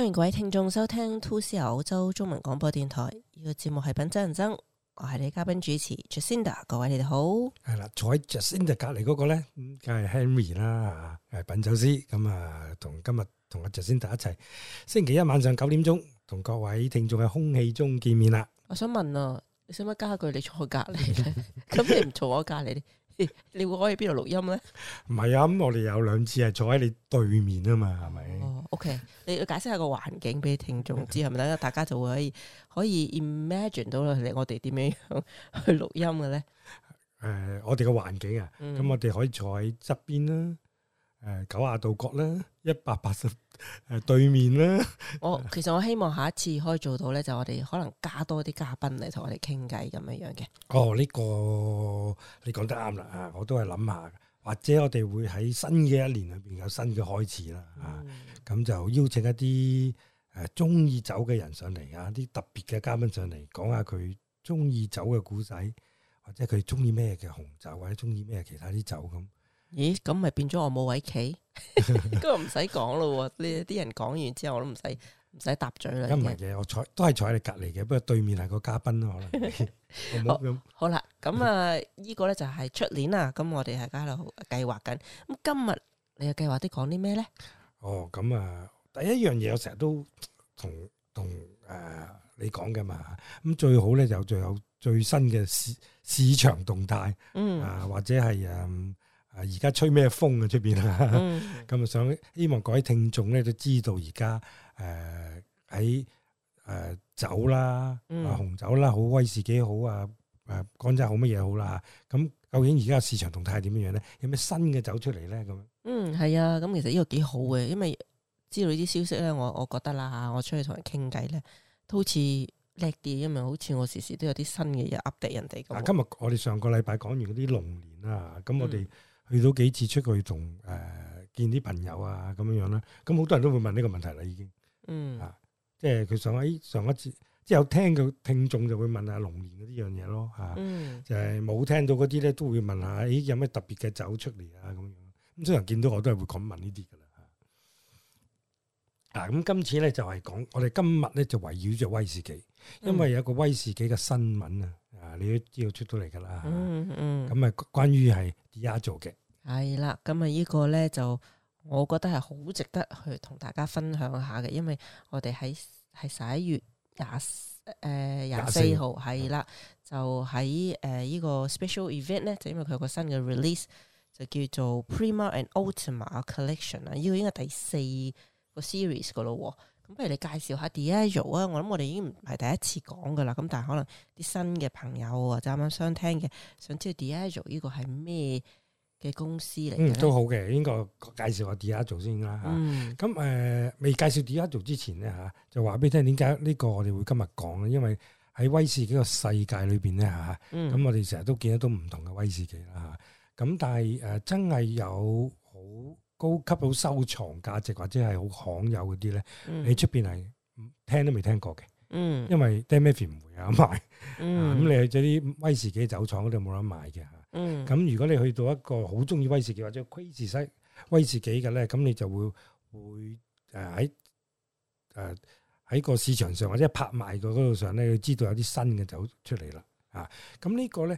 歡迎各位聽眾收聽 2CR 澳洲中文廣播電台，呢個節目係品酒人生，我係你嘉賓主持 Jacinda， 各位你哋好。係啦， 坐喺 Jacinda 隔籬嗰個咧，梗係 Henry 啦，係品酒師。咁啊，今日同阿 Jacinda 一齊，星期一晚上9點鐘，同各位聽眾喺空氣中見面啦。 我想問啊，你使乜加句你坐我隔籬咧？咁你唔坐我隔籬咧？你會可以邊度錄音咧？唔係啊，咁我哋有兩次係坐喺你對面啊嘛，係咪？ 哦 OK， 你要解釋下個環境俾聽眾知係咪？等大家就會可以 imagine 到啦，我哋點樣去錄音嘅咧？ 我哋嘅環境啊，咁我哋可以坐喺側邊啦，90度角啦，180對面啦。 其實我希望下一次可以做到咧，就我哋可能加多啲嘉賓嚟同我哋傾偈咁樣樣嘅。 哦，呢個你講得啱啦啊！我都係諗下，或者我哋會喺新嘅一年裏邊有新嘅開始啦啊！咁就邀請一啲中意酒嘅人上嚟啊，啲特別嘅嘉賓上嚟講下佢中意酒嘅故仔，或者佢中意咩嘅紅酒，或者中意咩其他啲酒咁。 咦，咁咪變咗我冇位企，咁就唔使講咯。呢啲人講完之後，我都唔使答嘴啦。 唔係嘅，我都係坐喺你隔籬嘅，不過對面係個嘉賓咯，可能。好啦， 咁啊，呢個咧就係出年啦。咁我哋係喺度計劃緊。咁今日你又計劃啲講啲咩咧？ 哦，咁啊，第一樣嘢我成日都同你講㗎嘛。咁最好咧就有最新嘅市場動態，或者係而家吹咩風啊出邊啊？咁希望各位聽眾咧都知道而家喺酒啦，紅酒啦，好威士忌好啊，乾酒好乜嘢好啦。咁究竟而家市場動態係點樣咧？有咩新嘅酒出嚟咧？咁係啊，咁其實呢個幾好嘅，因為知道呢啲消息咧，我覺得啦嚇，我出去同人傾偈咧，都好似叻啲，因為好似我時時都有啲新嘅嘢 update 人哋咁。 今日我哋上個禮拜講完嗰啲龍年啦，咁我哋去到幾次出去同見啲朋友啊咁樣樣啦，咁好多人都會問呢個問題啦，已經，即係佢上一次，即係有聽嘅聽眾就會問下龍年嗰啲樣嘢咯，就係冇聽到嗰啲咧都會問下，有咩特別嘅酒出嚟啊咁樣，咁所有人見到我都係會咁問呢啲噶啦，咁今次咧就係講，我哋今日咧就圍繞住威士忌，因為有一個威士忌嘅新聞啊，你都知道出到嚟噶啦，咁啊關於係 Diageo 嘅。係啦，咁啊呢個咧就我覺得係好值得去同大家分享下嘅，因為我哋係11月24號係啦，就喺呢個 special event 咧，就因為佢有個新嘅 release 就叫做 Prima and Ultima Collection 啊，呢個應該第4個 series 噶咯。咁不如你介紹下 Diageo 啊？我諗我哋已經唔係第一次講噶啦，咁但係可能啲新嘅朋友或者啱啱相聽嘅，想知道 Diageo 呢個係咩嘅公司嚟嘅？ 都好嘅，應該介紹下 Diageo 先啦嚇。咁未介紹 Diageo 之前咧嚇，就話俾你聽點解呢個我哋會今日講咧？因為喺威士忌個世界裏邊咧嚇，咁我哋成日都見得到唔同嘅威士忌啦嚇。咁但係真係有好高級、好收藏價值或者係好罕有嗰啲咧，你出邊係聽都未聽過嘅。因為 Dan Murphy 唔會有得賣。咁你去咗啲威士忌酒廠嗰度冇得賣嘅嚇。咁如果你去到一個好中意威士忌或者 Crazy 威士忌嘅咧，咁你就會喺個市場上或者拍賣個嗰度上咧，你知道有啲新嘅酒出嚟啦。咁呢個咧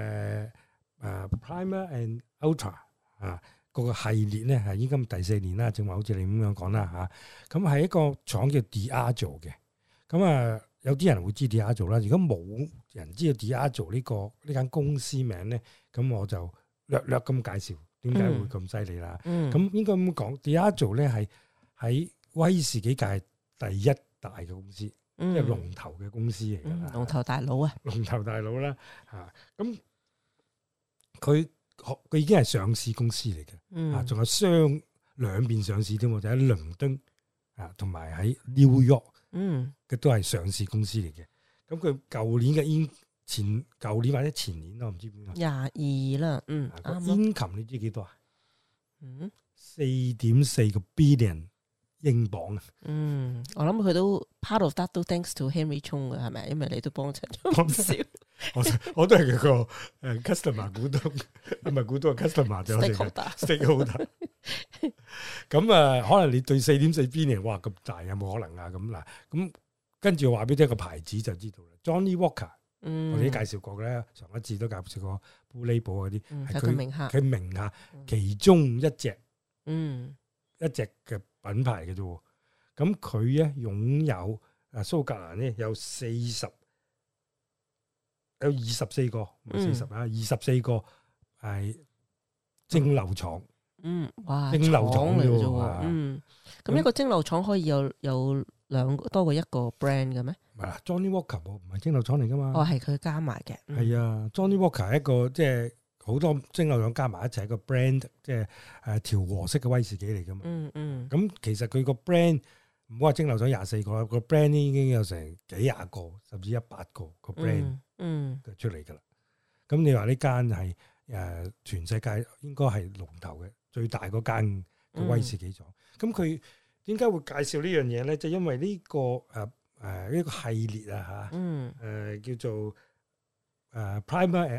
Prima and Ultra 個系列咧係已經第4年啦，正話好似你咁樣講啦嚇。咁係一個廠叫 Diageo 嘅。咁有啲人會知 Diageo 啦。如果冇人知道 Diageo 呢間公司名咧，咁我就略咁介紹點解會咁犀利啦。咁應該咁講 Diageo 咧係喺威士忌界第一大嘅公司，即係龍頭嘅公司嚟㗎啦。 龍頭大佬啊， 龍頭大佬啦嚇。咁佢已經係上市公司嚟嘅，仲有兩邊上市添喎，就喺倫敦同埋喺 New York。嘅都係上市公司嚟嘅，咁佢舊年或者前年咯，唔知邊個 22啦， income你知幾多啊？4.4個 billion 英鎊啊！ 我諗佢都 part of that 都 thanks to Henry Chung 嘅係咪？因為你都幫襯咗唔少， 我都係佢個customer 股東，唔係股東 customer 就 stakeholder。咁咁啊，可能你對4.4 billion，哇咁大有冇可能啊？咁嗱，咁跟住話俾你聽個牌子就知道啦。Johnnie Walker，我哋都介紹過咧，上一次都介紹過 Blue Label 嗰啲，係佢名下其中一隻，一隻嘅品牌嘅啫。咁佢咧擁有蘇格蘭咧有24個，唔係40啊，24個係蒸餾廠。 哇， 蒸餾廠嚟嘅啫。咁一個蒸餾廠可以有多過一個 brand 嘅咩？ 唔係啦 ，Johnnie Walker 唔係蒸餾廠嚟噶嘛。 哦，係佢加埋嘅。 係啊，Johnnie Walker 係一個即係好多蒸餾廠加埋一齊一個 brand， 即係調和式嘅威士忌嚟噶嘛。咁其實佢個 brand 唔好話蒸餾廠24個啦，個 brand 已經有成幾廿個，甚至100個 brand 出嚟噶啦。咁你話呢間係全世界應該係龍頭嘅最大嗰間嘅威士忌廠。咁佢點解會介紹呢樣嘢咧？就因為呢個呢個系列啊嚇，叫做Primer and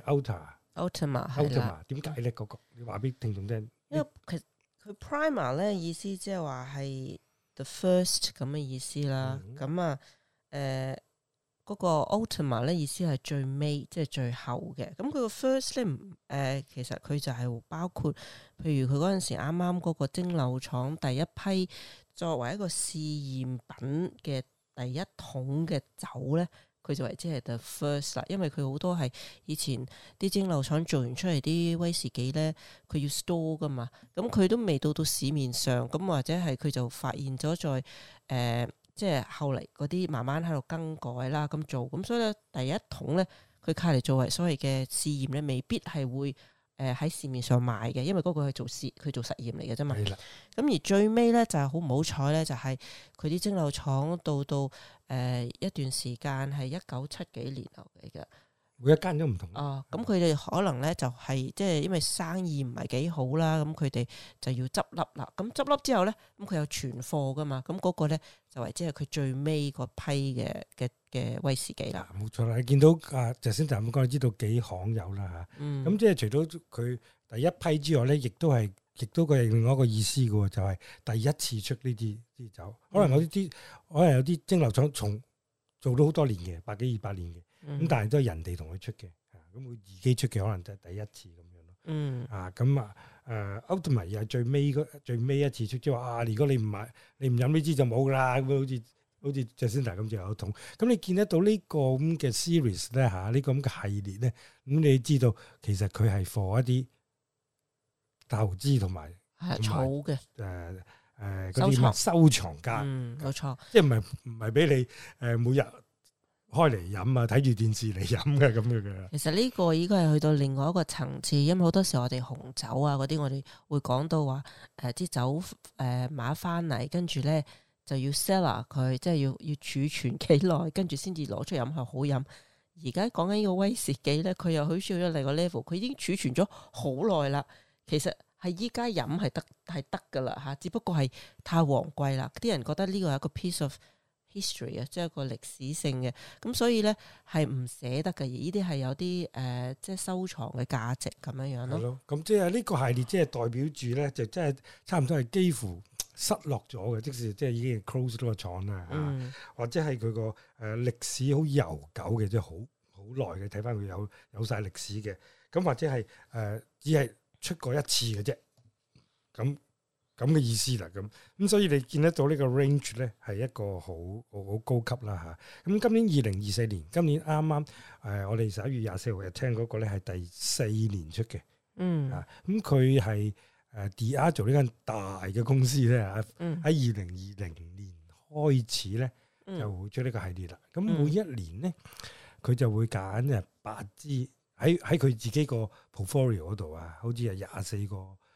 Ultima 點解咧？嗰個你話俾聽眾聽。 因為其實佢 Primer 咧意思即係話係 the first 咁嘅意思啦。咁嗰個 Ultima 咧意思係最尾，即係最後嘅。咁佢個 first 咧其實佢就係包括，譬如佢嗰陣時啱啱嗰個蒸餾廠第一批作為一個試驗品嘅第一桶嘅酒咧，佢就為之係 the first 啦。因為佢好多係以前啲蒸餾廠做完出嚟啲威士忌咧，佢要 store 噶嘛，咁佢都未到市面上，咁或者係佢就發現咗在即係後嚟嗰啲慢慢喺度更改啦，咁做，咁所以咧第一桶咧，佢卡嚟作為所謂嘅試驗咧，未必係會喺市面上賣嘅，因為嗰個係佢做實驗嚟嘅啫嘛。咁而最尾咧就係好唔好彩咧，就係佢啲蒸餾廠到一段時間係1970幾年後嚟嘅。 每一間都唔同。 咁佢哋可能咧就係即係因為生意唔係幾好啦，咁佢哋就要執笠啦。咁執笠之後咧，咁佢有存貨噶嘛，咁嗰個咧就為即係佢最尾嗰批嘅威士忌啦。冇錯啦，你見到就先頭咁講，你知道幾罕有啦嚇。咁即係除咗佢第一批之外咧，亦都佢係另外一個意思嘅喎，就係第一次出呢啲酒。可能有啲蒸餾廠做咗好多年嘅，100幾200年嘅。咁但係都係人哋同佢出嘅，咁佢自己出嘅可能就係第一次咁樣咯。Ultima 又係最尾一次出，即係話如果你唔飲呢支就冇噶啦。咁好似 Jacinda 咁就有桶。咁你見得到呢個咁嘅 series 咧呢個咁嘅系列咧，咁你知道其實佢係 for 一啲投資同埋儲嘅嗰啲收藏家。 冇錯， 即係唔係俾你每日開嚟飲啊，睇住電視嚟飲嘅咁樣嘅。其實呢個應該係去到另外一個層次，因為好多時我哋紅酒啊嗰啲，我哋會講到話啲酒買翻嚟，跟住咧就要 cellar 佢，即係要儲存幾耐，跟住先至攞出飲係好飲。而家講緊呢個威士忌咧，佢又好似去咗另一個 level，佢已經儲存咗好耐啦。其實係依家飲係得噶啦嚇，只不過係太昂貴啦。啲人覺得呢個係一個 piece of history 啊，即係一個歷史性嘅，咁所以咧係唔捨得嘅，而呢啲係有啲即係收藏嘅價值咁樣樣咯。係咯， 咁即係呢個系列即係代表住咧，就真係差唔多係幾乎失落咗嘅，即使即係已經 close 咗個廠啦，或者係佢個歷史好悠久嘅，即係好耐嘅，睇翻佢有晒歷史嘅，咁或者係只係出過一次嘅啫，咁嘅意思啦，咁所以你見得到呢個 range 咧係一個好高級啦嚇。咁今年2024年，今年啱啱我哋11月24號日聽嗰個咧係第4年出嘅，咁佢係Diageo 呢間大嘅公司咧喺2020年開始咧就會出呢個系列啦。咁每一年咧佢就會揀8支喺佢自己個 portfolio 嗰度啊，好似係24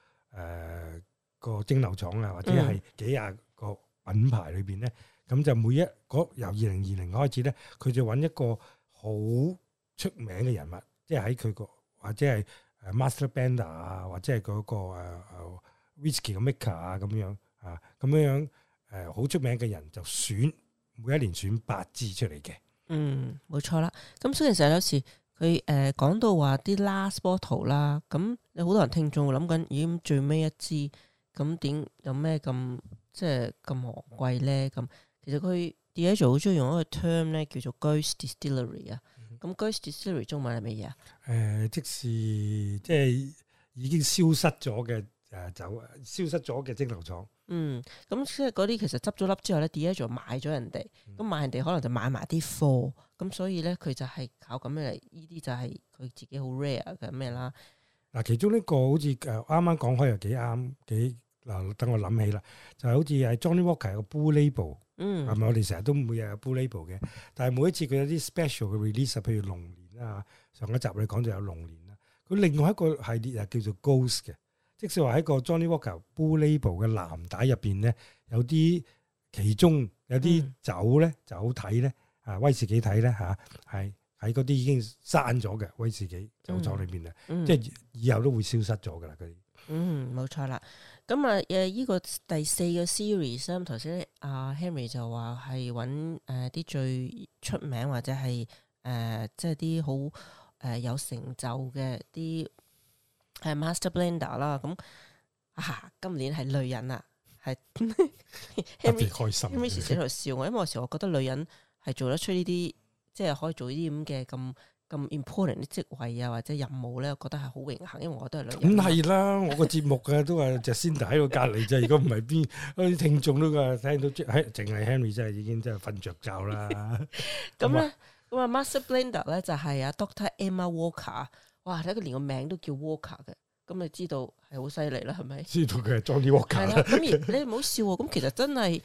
個蒸餾廠啊，或者係幾廿個品牌裏邊咧，咁就每一個由2020開始咧，佢就揾一個好出名嘅人物，即係喺佢個或者係master blender 啊，或者係嗰個whisky 嘅 maker 啊咁樣啊，咁樣好出名嘅人就選每一年選8支出嚟嘅。 冇錯啦。咁所以其實有時佢講到話啲 last bottle 啦，咁有好多人聽眾會諗緊，已經最尾一支。 咁點有咩咁即係咁昂貴咧？咁其實佢 Diageo 好中意用一個 term 咧，叫做 Ghost Distillery 啊。咁 Ghost Distillery 中文係乜嘢啊？ 即是即係已經消失咗嘅酒，消失咗嘅蒸餾廠。 咁即係嗰啲其實執咗笠之後咧，Diageo 買咗人哋，咁買人哋可能就買埋啲貨，咁所以咧佢就係靠咁樣嚟，呢啲就係佢自己好 rare 嘅咩啦。 嗱，其中呢個好似啱啱講開又幾啱，嗱，等我諗起啦，就係好似係 Johnny Walker 有個 Blue Label，係咪我哋成日都每日有 Blue Label 嘅？但係每一次佢有啲 special 嘅 release，譬如龍年啊，上一集你講就有龍年啦。佢另外一個系列叫做 Ghost 嘅，即係話喺個 Johnny Walker Blue Label 嘅藍帶入邊咧，有啲其中有啲酒咧就好睇咧，威士忌睇咧嚇，係喺嗰啲已經閂咗嘅威士忌酒廠裏邊啊，即係以後都會消失咗噶啦嗰啲。 冇錯啦。咁依個第4個 series 咧，頭先Henry 就話係揾啲最出名或者係即係啲好有成就嘅啲Master Blender 啦。咁今年係女人啊，係特別開心。 Henry 時時喺度笑我，因為有時我覺得女人係做得出呢啲，即係可以做呢啲咁嘅咁 important 啲職位啊或者任務咧，我覺得係好榮幸，因為我都係女人。咁係啦，我個節目都係Jacinda喺個隔離啫。如果唔係邊啲聽眾都聽到，淨係 Henry 真係已經真係瞓着覺啦。 咁咧，Master Blender 咧就係Dr. Emma Walker。哇！睇佢連個名都叫 Walker 嘅，咁你知道係好犀利啦，係咪？知道佢係 Johnny Walker 啦。咁而你唔好笑喎，咁其實真係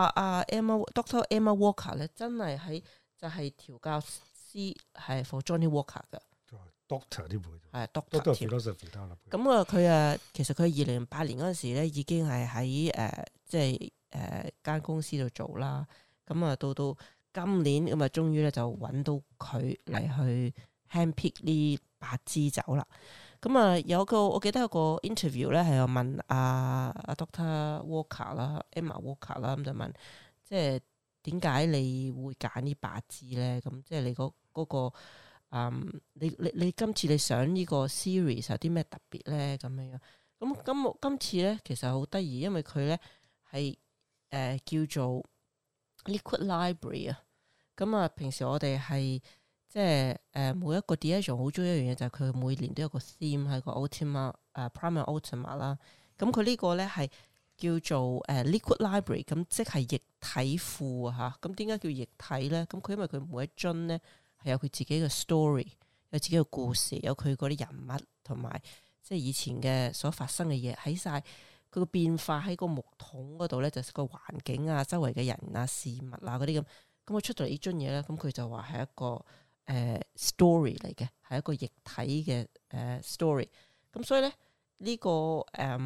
Dr. Emma Walker 咧，真係就係調教師係 for Johnny Walker 嘅 Doctor 啲會係 Doctor philosophy 咁佢其實佢2008年嗰陣時咧已經係喺即係間公司度做啦。咁到今年咁終於咧就揾到佢嚟去 handpick 呢8支酒啦。咁有個我記得有個 interview 咧係有問阿 Dr. Walker 啦 Emma Walker 啦，咁就問即係點解你會揀呢8支咧？咁即係你嗰個你今次你想呢個 series 有啲咩特別咧？咁樣咁今次咧其實好得意，因為佢咧係叫做 Liquid Library 啊。咁平時我哋係即係每一個 Diageo 好中意一樣嘢，就係佢每年都有個 theme 喺個 Ultima Prima Ultima 啦。咁佢呢個咧係叫做Liquid Library，咁即係液體庫啊嚇。咁點解叫液體咧？咁佢因為佢每一樽咧係有佢自己嘅 story，有自己嘅故事，有佢嗰啲人物同埋即係以前嘅所發生嘅嘢喺晒佢個變化喺個木桶嗰度咧，就係個環境啊、周圍嘅人啊、事物啊嗰啲咁。咁佢出到嚟呢樽嘢咧，咁佢就話係一個story 嚟嘅，係一個液體嘅story。咁所以咧呢個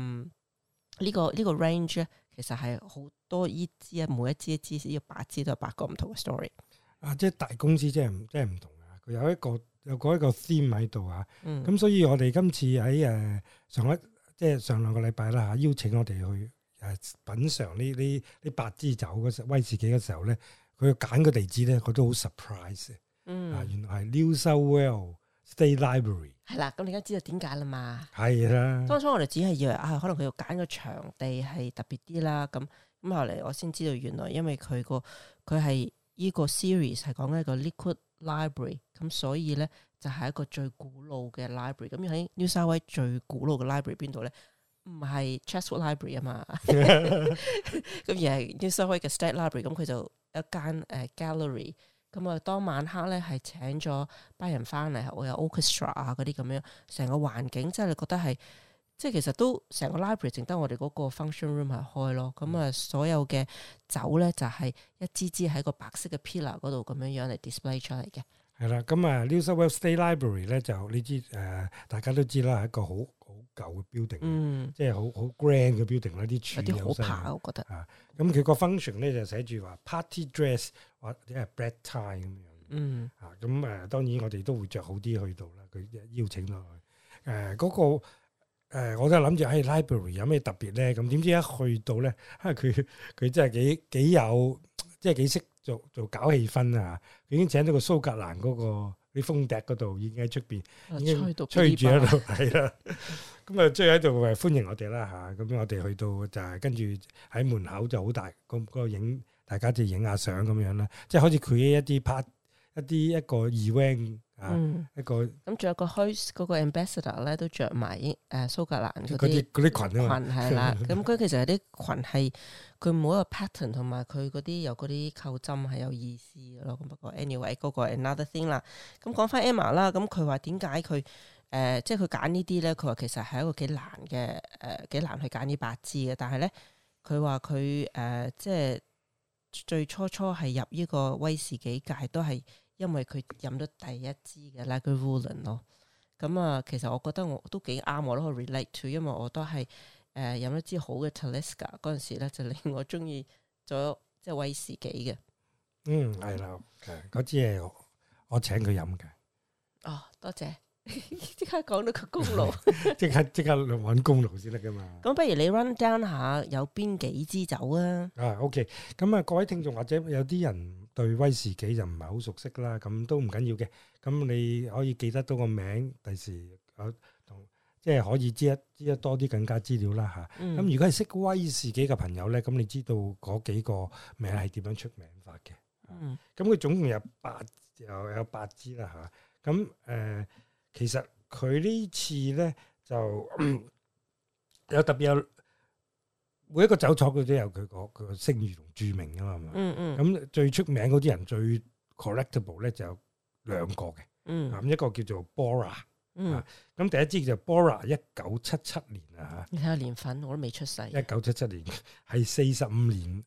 range 咧，其實係好多依支啊，每一支呢個8支都有8個唔同嘅 story。即係大公司即係唔同啊！佢有一個 theme 喺度啊。咁所以我哋今次喺上兩個禮拜啦嚇，邀請我哋去品嚐呢8支酒嗰威士忌嘅時候咧，佢揀個地址咧，我都好 surprise 嘅。原來係 New South Wales State Library。係啦，咁你而家知道點解啦嘛？係啦。當初我哋只係以為可能佢要揀個場地係特別啲啦。咁後嚟我先知道原來因為佢係呢個 series 係講緊一個 Liquid Library， 咁所以咧就係一個最古老嘅 library。咁喺 New South Wales 最古老嘅 library 邊度咧？唔係 Chatswood Library 啊嘛，咁而係 New South Wales 嘅 State Library。咁佢就一間gallery。咁當晚黑咧係請咗班人翻嚟，我有 orchestra 啊嗰啲咁樣，成個環境即係你覺得係，即係其實都成個 library 淨得我哋嗰個 function room 係開咯。咁所有嘅酒咧就係一支支喺個白色嘅 pillar 嗰度咁樣嚟 display 出嚟嘅。係啦，咁New South Wales State Library 咧就你知大家都知啦，係一個好舊嘅 building，即係好 grand 嘅 building 啦，啲柱有好爬，我覺得。咁佢個 function 咧就寫住話 party dress 或者係 black tie 咁樣。咁當然我哋都會着好啲去到啦。佢邀請落去嗰個我都係諗住喺 library 有咩特別咧？咁點知一去到咧，佢真係幾有，即係幾識做搞氣氛啊！佢已經請到個蘇格蘭嗰個啲風笛嗰度已經喺出邊，已經吹住喺度，係啦。咁啊，追喺度歡迎我哋啦嚇。咁我哋去到就係跟住喺門口就好大，嗰個影大家就影下相咁樣啦。即係好似佢一啲 part 一個 event 啊，一個咁仲有個 host 嗰個 ambassador 咧都着埋蘇格蘭嗰啲裙啊嘛，係啦。咁佢其實有啲裙係佢每一個 pattern 同埋佢嗰啲有嗰啲扣針係有意思嘅咯。咁不過 anyway 嗰個 another thing 啦。咁講翻 Emma 啦，咁佢話點解佢即係佢揀呢啲咧？佢話其實係一個幾難嘅幾難去揀呢8支嘅。但係咧佢話佢即係最初係入呢個威士忌界都係。因為佢飲咗第一支嘅 Lagavulin 咯，咁啊，其實我覺得我都幾啱，我都可以 relate to，因為我都係飲咗支好嘅 Talisker 嗰陣時咧，就令我中意咗即係威士忌嘅。 係啦，嗰支係我請佢飲嘅。 哦，多謝，即刻講到個功勞， 即刻揾功勞先得噶嘛。 咁不如你 run down 下有邊幾支酒啊 ？OK， 咁啊，各位聽眾或者有啲人對威士忌就唔係好熟悉啦，咁都唔緊要嘅。咁你可以記得到個名，第時同即係可以知得多啲更加資料啦嚇。咁如果係識威士忌嘅朋友咧，咁你知道嗰幾個名係點樣出名法嘅。咁佢總共有8支啦嚇。咁其實佢呢次咧就有特別有每一個酒廠佢都有佢個聲譽同著名噶嘛。咁最出名嗰啲人最 collectible 咧就有2個嘅。咁一個叫做 Bora。咁第一支叫做 Bora 1977年啊嚇。 你睇下年份我都未出世。 1977年係45年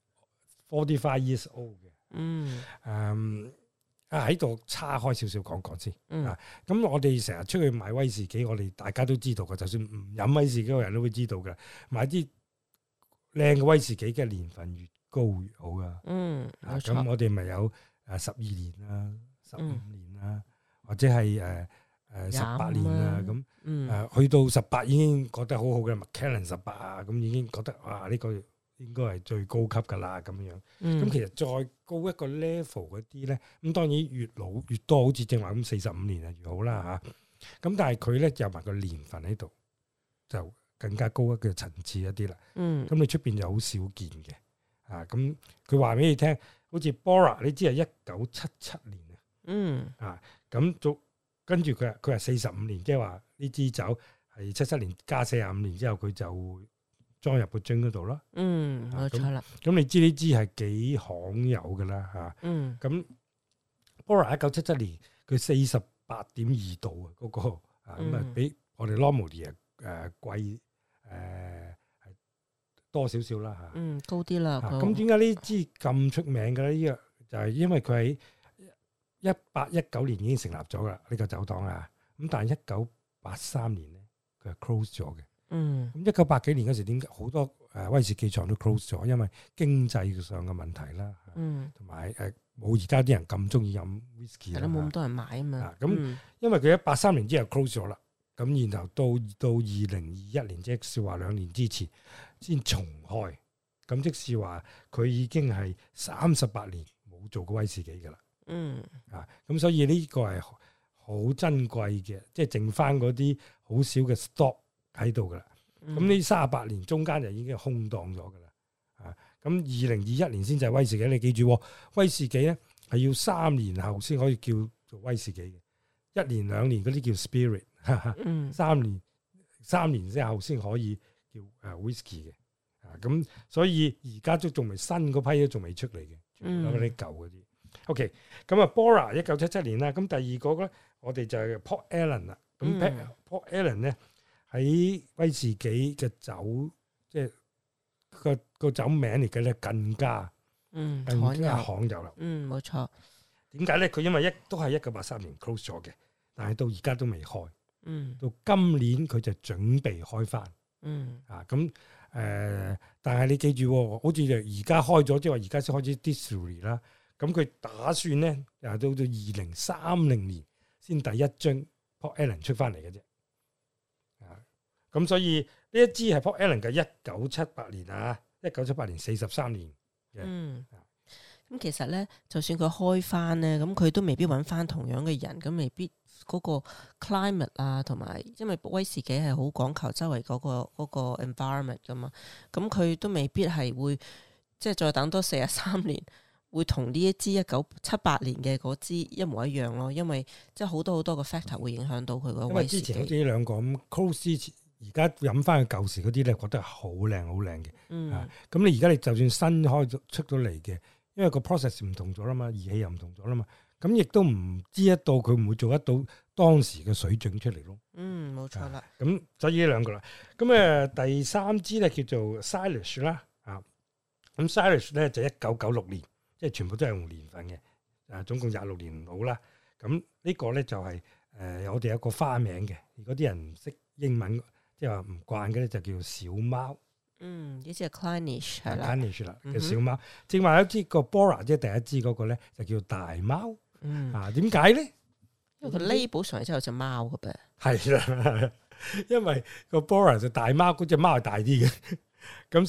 45 years old 嘅。喺度岔開少少講先。咁我哋成日出去買威士忌，我哋大家都知道嘅，就算唔飲威士忌嘅人都會知道嘅。買啲靚嘅威士忌嘅年份越高越好噶。咁我哋咪有12年啦、15年啦，或者係18年啦。咁去到18已經覺得好好嘅 Macallan 18啊，咁已經覺得哇呢個應該係最高級噶啦咁樣。咁其實再高一個 level 嗰啲咧，咁當然越老越多，好似正話咁45年啊越好啦嚇。咁但係佢咧有埋個年份喺度，就更加高一個層次一啲啦。咁你出邊就好少見嘅。咁佢話俾你聽，好似 Bora 你知係1977年啊。咁跟住佢係45年，即係話呢支酒係77年加45年之後，佢就會裝入個樽嗰度咯。 冇錯啦。 咁你知呢支係幾罕有㗎啦嚇。咁 Bora 1977年佢48.2度啊，嗰個咁啊比我哋 Normandy 貴係多少少啦嚇。 高啲啦。 咁點解呢支咁出名嘅咧？呢個就係因為佢喺1819年已經成立咗啦，呢個酒檔啊。咁但係1983年咧，佢係 close 咗嘅。咁1980幾年嗰時，點解好多威士忌廠都 close 咗？因為經濟上嘅問題啦，同埋冇而家啲人咁中意飲 whisky 啦， 冇咁多人買啊嘛。 咁因為佢喺83年之後 close 咗啦，咁然後到2021年，即係話2年之前先重開。咁即是話佢已經係38年冇做過威士忌噶啦。咁所以呢個係好珍貴嘅，即係剩翻嗰啲好少嘅 stock 喺度噶啦。咁呢38年中間就已經空蕩咗噶啦。咁2021年先就係威士忌，你記住，威士忌咧係要3年後先可以叫做威士忌嘅，1年2年嗰啲叫 spirit， 3年之後先可以叫whisky 嘅。咁所以而家都仲未新嗰批都仲未出嚟嘅，全部都係啲舊嗰啲。OK， 咁啊 Bora 1977年啦，咁第二個咧我哋就係 Port Ellen 啦。咁 Port Ellen 咧喺威士忌嘅酒，即係個酒名嚟嘅咧更加罕有啦。 冇錯。 點解咧？佢因為都係1983年 close 咗嘅，但係到而家都未開。到今年佢就準備開翻。但係你記住，好似而家開咗，即係話而家先開始 distillery 啦。咁佢打算咧，又到2030年先第一樽 Port Ellen 出翻嚟嘅啫。咁所以呢一支係 Port Ellen 嘅1978年啊，1978年43年嘅。 咁其實咧，就算佢開翻咧，咁佢都未必揾翻同樣嘅人，咁未必嗰個 climate 啊，同埋因為威士忌係好講求周圍嗰個 environment 噶嘛，咁佢都未必係會即係再等多43年，會同呢一支1978年嘅嗰支一模一樣咯，因為即係好多個 factor 會影響到佢個威士忌。因為之前好似呢兩個咁 close 之前，而家飲翻佢舊時嗰啲咧，覺得好靚好靚嘅。咁你而家你就算新開出到嚟嘅，因為個 process 唔同咗啦嘛，儀器又唔同咗啦嘛，咁亦都唔知得到佢唔會做得到當時嘅水準出嚟咯。冇錯啦。咁所以呢兩個啦，咁第三支咧叫做 Salish 啦，咁 Salish 咧就1996年，即係全部都係用年份嘅，總共26年到啦。咁呢個咧就係我哋有個花名嘅，如果啲人唔識英文，即係話唔慣嘅咧，就叫小貓。呢隻係 Clynelish 係啦 ，Clynelish 啦嘅小貓。正話有支個 Bora 即係第一支嗰個咧，就叫大貓。點解咧？因為佢 label 上嚟之後有隻貓嘅噃。係啦，因為個 Bora 就大貓，嗰隻貓係大啲嘅。咁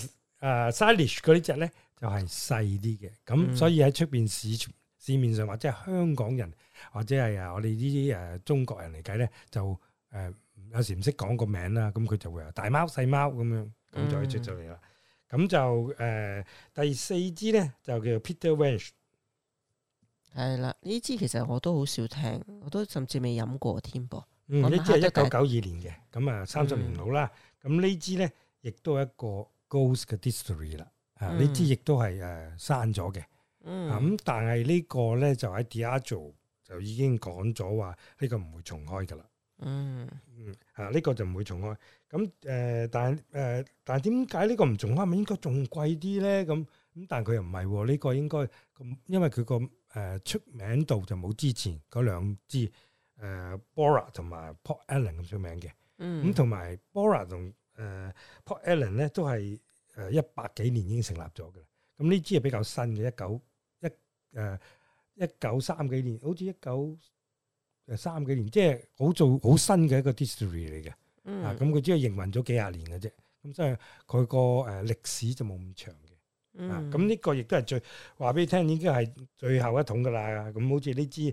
Salish 嗰啲隻咧就係細啲嘅。咁所以喺出邊市面上或者係香港人或者係我哋呢啲中國人嚟計咧，就有時唔識講個名啦，咁佢就會話大貓細貓咁樣，咁就可以出咗嚟啦。咁就第四支咧就叫做 Peter Welch。係啦，呢支其實我都好少聽，我都甚至未飲過添噃。呢支係1992年嘅，咁30年老啦。咁呢支咧亦都係一個 Ghost 嘅 Distillery 啦。呢支亦都係刪咗嘅。咁但係呢個咧就喺 Diageo 就已經講咗話呢個唔會重開噶啦。呢個就唔會重開。咁但係點解呢個唔重開？咪應該仲貴啲咧？咁但係佢又唔係喎。呢個應該咁，因為佢個出名度就冇之前嗰兩支Bora 同埋 Port Ellen 咁出名嘅。咁同埋 Bora 同Port Ellen 咧都係100幾年已經成立咗嘅。咁呢支係比較新嘅，1930幾年，好似1930幾年，即係好新嘅一個 distillery 嚟嘅。咁佢只係營運咗幾廿年嘅啫。咁所以佢個歷史就冇咁長嘅。咁呢個亦都係話俾你聽，已經係最後一桶噶啦。咁好似呢支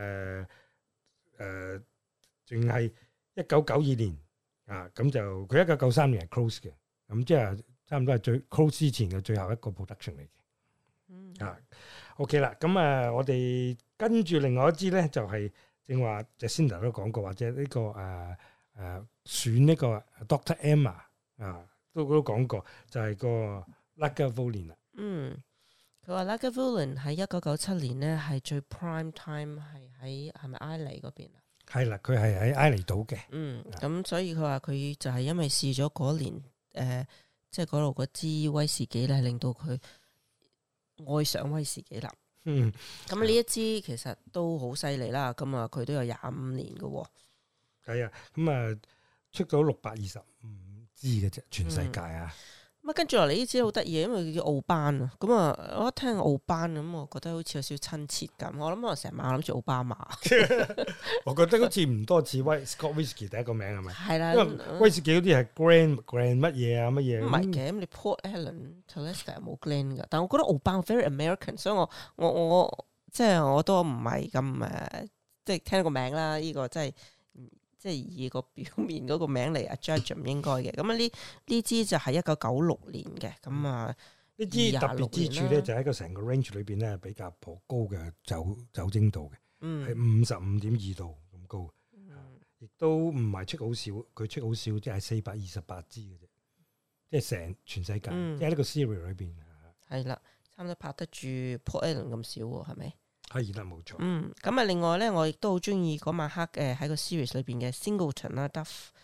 淨係1992年咁就佢1993年係 close 嘅。咁即係差唔多係最 close 之前嘅最後一個 production 嚟嘅。OK 啦，咁我哋跟住另外一支咧，就係正話 Jacinda 都講過，或者呢個選呢個 Dr. Emma 都講過，就係個 Lagavulin 啦。佢話 Lagavulin 喺1997年咧係最 prime time 係咪埃尼嗰邊啊？係啦，佢係喺埃尼島嘅。咁所以佢話佢就係因為試咗嗰年即係嗰度嗰支威士忌咧，令到佢愛上威士忌啦。咁呢一支其實都好犀利啦。咁佢都有25年嘅。係啊，咁出咗625支嘅啫，全世界啊。咁跟住落嚟呢支好得意，因為佢叫奧班啊。咁我一聽奧班咁，我覺得好似有少少親切感。我諗我成晚諗住奧巴馬。我覺得好似唔多似Scott Whisky 第一個名係咪？係啦，因為威士忌嗰啲係 Grand 乜嘢啊乜嘢。唔係嘅，咁你 Port Ellen、Talisker 冇 Glen 噶。但係我覺得奧班 very American，所以我即係我都唔係咁即係聽個名啦。呢個真係。即係以個表面嗰個名嚟judge 唔應該嘅。咁呢支就係1996年嘅。咁呢支特別之處咧，就喺個成個 range 裏邊咧比較頗高嘅酒精度嘅，係55.2度咁高。亦都唔係出好少，佢出好少，即係428支嘅啫。即係成全世界，即係呢個 series 裏邊係啦，差唔多拍得住 Port Ellen 咁少喎，係咪？係啦，冇錯。咁另外咧，我亦都好中意嗰晚黑喺個 series 裏邊嘅 Singleton 啦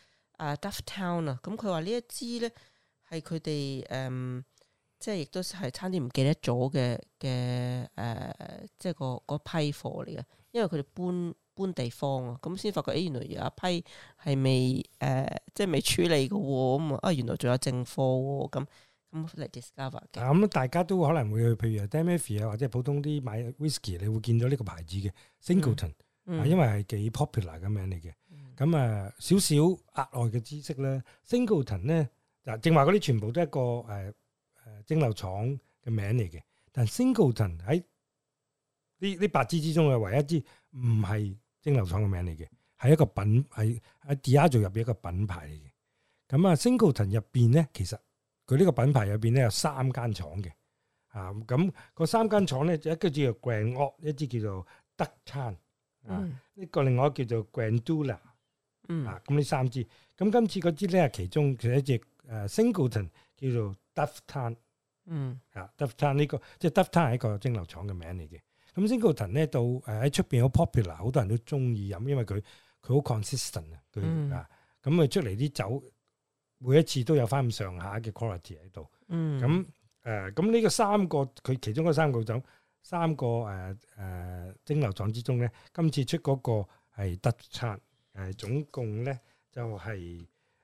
，Dufftown 啊。咁佢話呢一支咧係佢哋即係亦都係差啲唔記得咗嘅即係嗰批貨嚟嘅，因為佢哋搬地方啊，咁先發覺原來有一批係未即係未處理嘅喎，咁原來仲有正貨喎，咁嚟 discover 嘅。咁大家都可能會去，譬如 Damier 或者普通啲買 whisky，你會見到呢個牌子嘅 Singleton，因為係幾 popular 嘅名嚟嘅。咁少少額外嘅知識咧 ，Singleton 咧正話嗰啲全部都係一個蒸餾廠嘅名嚟嘅。 但 Singleton 喺呢8支之中嘅唯一一支唔係蒸餾廠嘅名嚟嘅，係一個品係喺 Diageo 入邊一個品牌嚟嘅。咁啊 Singleton 入邊咧，其實佢呢個品牌入邊咧有3間廠嘅。咁嗰3間廠咧，一個叫做 Grand Old， 一支叫做 Ducktown， 呢個另外一個叫做 Grandula， 咁呢3支。咁今次嗰支咧係其中其實一隻Singleton 叫做 Dufftown， Dufftown 呢個即係 Dufftown 係一個蒸餾廠嘅名嚟嘅。咁 Singleton 咧到喺出邊好 popular， 好多人都中意飲，因為佢好 consistent 啊，佢咁佢出嚟啲酒每一次都有翻咁上下嘅 quality 喺度。咁咁呢個3個佢其中嗰3個酒3個蒸餾廠之中咧，今次出嗰個係 Dufftown， 總共咧就係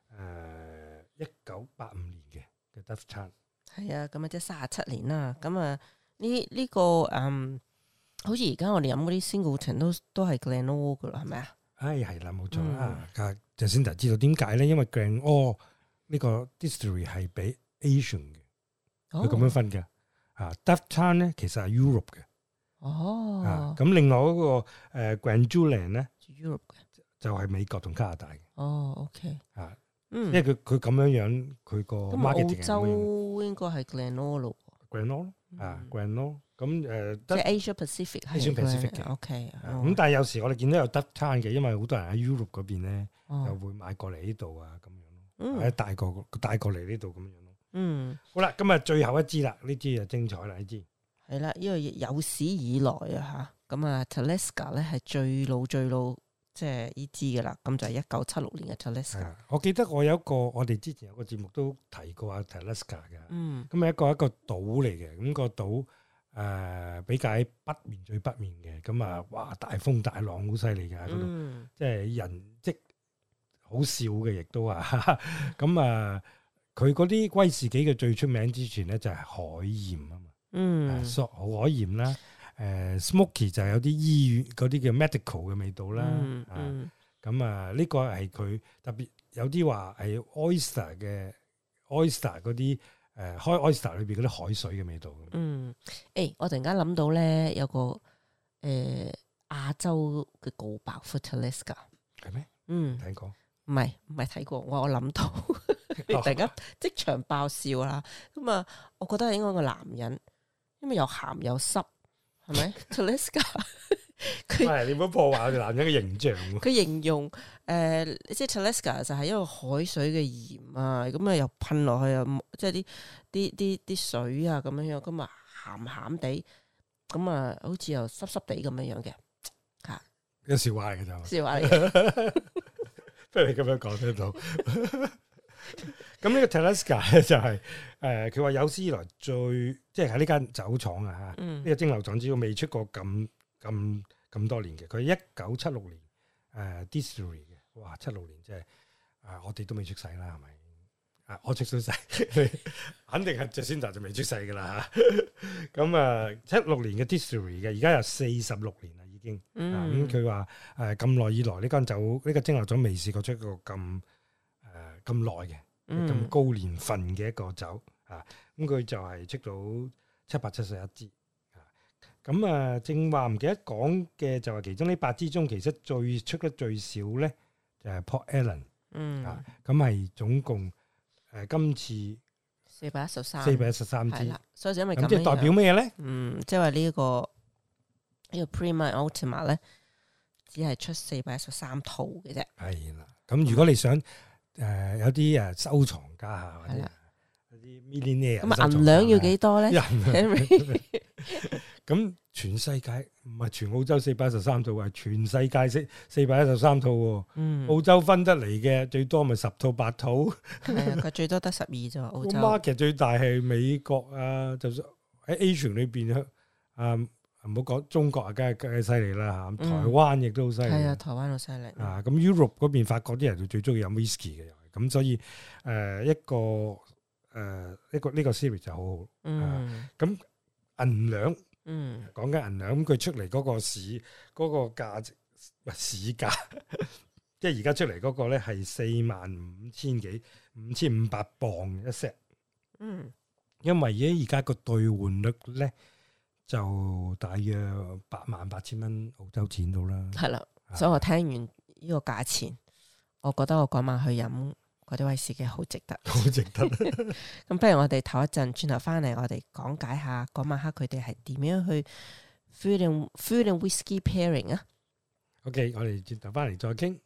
1985年嘅 Dufftown。 係啊，咁啊即係37年啦。咁啊呢個好似而家我哋飲嗰啲 Singleton 都係 Glenall 噶啦，係咪啊？ 係啦，冇錯啊。就先就知道點解咧，因為 Glenall 呢個 distillery 係俾 Asian 嘅。佢咁樣分嘅，Dufftown 咧其實係 Europe 嘅，咁另外嗰個Grandula 咧 Europe 嘅， 就係美國同加拿大嘅。 OK， 因為佢咁樣佢個 marketing 澳洲應該係 Glenall 咯 ，Glenall Glenall 咁即係 Asia Pacific 係 Pacific 嘅。 OK， 咁但係有時我哋見到有 Dufftown 嘅，因為好多人喺 Europe 嗰邊咧，就會買過嚟呢度啊咁樣咯，或者帶過嚟呢度咁樣。好啦，今日最後一支啦，呢支就精彩啦，呢支係啦，因為有史以來啊吓，咁啊 Talisker 咧係最老，即係呢支噶啦，咁就係1976年嘅 Talisker。 我記得我哋之前有個節目都提過啊 Talisker 嘅，咁係一個島嚟嘅，咁個島比較喺北面最北面嘅，咁啊哇大風大浪好犀利噶嗰度，即係人跡好少嘅，亦都咁啊。佢嗰啲威士忌嘅最出名之處咧就係海鹽啊嘛，好海鹽啦，smoky 就係有啲醫院嗰啲叫 medical 嘅味道啦，咁呢個係佢特別有啲話係 oyster 嗰啲開 oyster 裏邊嗰啲海水嘅味道。 我突然間諗到咧有個亞洲嘅告白 for Talisker 係咩？睇過？唔係睇過，我諗到。突然間即場爆笑啦！咁啊，我覺得係應該個男人，因為又鹹又濕，係咪 ？Talisker 你唔好破壞我哋男人嘅形象。 佢形容即係 Talisker 就係一個海水嘅鹽啊，咁啊又噴落去啊，即係啲水啊咁樣樣，咁啊鹹鹹地，咁啊好似又濕濕地咁樣樣嘅嚇。 一個笑話嚟嘅就笑話嚟嘅，不如你咁樣講得到。咁呢個 Talisker 咧就係佢話有史以來最即係喺呢間酒廠啊嚇，呢個蒸餾廠只要未出過咁多年嘅，佢係1976年distillery 嘅，哇76年即係我哋都未出世啦係咪？我出咗世，肯定係Jacinda就未出世噶啦嚇。咁76年嘅 distillery 嘅，而家有46年啦已經。咁佢話咁耐以來呢間酒呢個蒸餾廠未試過出過咁耐嘅咁高年份嘅一個酒咁佢就係出到771支正話唔記得講嘅就係其中呢8支中，其實出得最少咧就係 Port Ellen 咁係總共今次413支， 所以就因為咁， 即係代表咩咧？ 即係話呢個 Prima Ultima 咧，只係出413套嘅啫。係啦，咁如果你想有啲收藏家或者有啲 millionaire 咁銀兩要幾多咧？ 咁全世界唔係全澳洲413套，係全世界413套。澳洲分得嚟嘅最多咪10套8套。 佢最多得12啫。澳洲 market 最大係美國啊，就算喺 Asian 裏邊唔好講中國梗係犀利啦嚇，台灣亦都好犀利。係台灣好犀利。 咁 Europe 嗰邊法國啲人就最中意飲 whisky 嘅，咁所以一個呢個 series 就好好。咁銀兩，講緊銀兩，咁佢出嚟嗰個市嗰個價值市價，即係而家出嚟嗰個咧係45,000幾5500磅一 set。因為而家個兌換率咧就大約88000蚊澳洲錢到啦。 係啦，所以我聽完呢個價錢，我覺得我嗰晚去飲嗰啲威士忌好值得， 好值得。 咁不如我哋唞一陣，轉頭翻嚟我哋講解下嗰晚黑佢哋係點樣去 food and whisky pairing 啊。 OK， 我哋轉頭翻嚟再傾。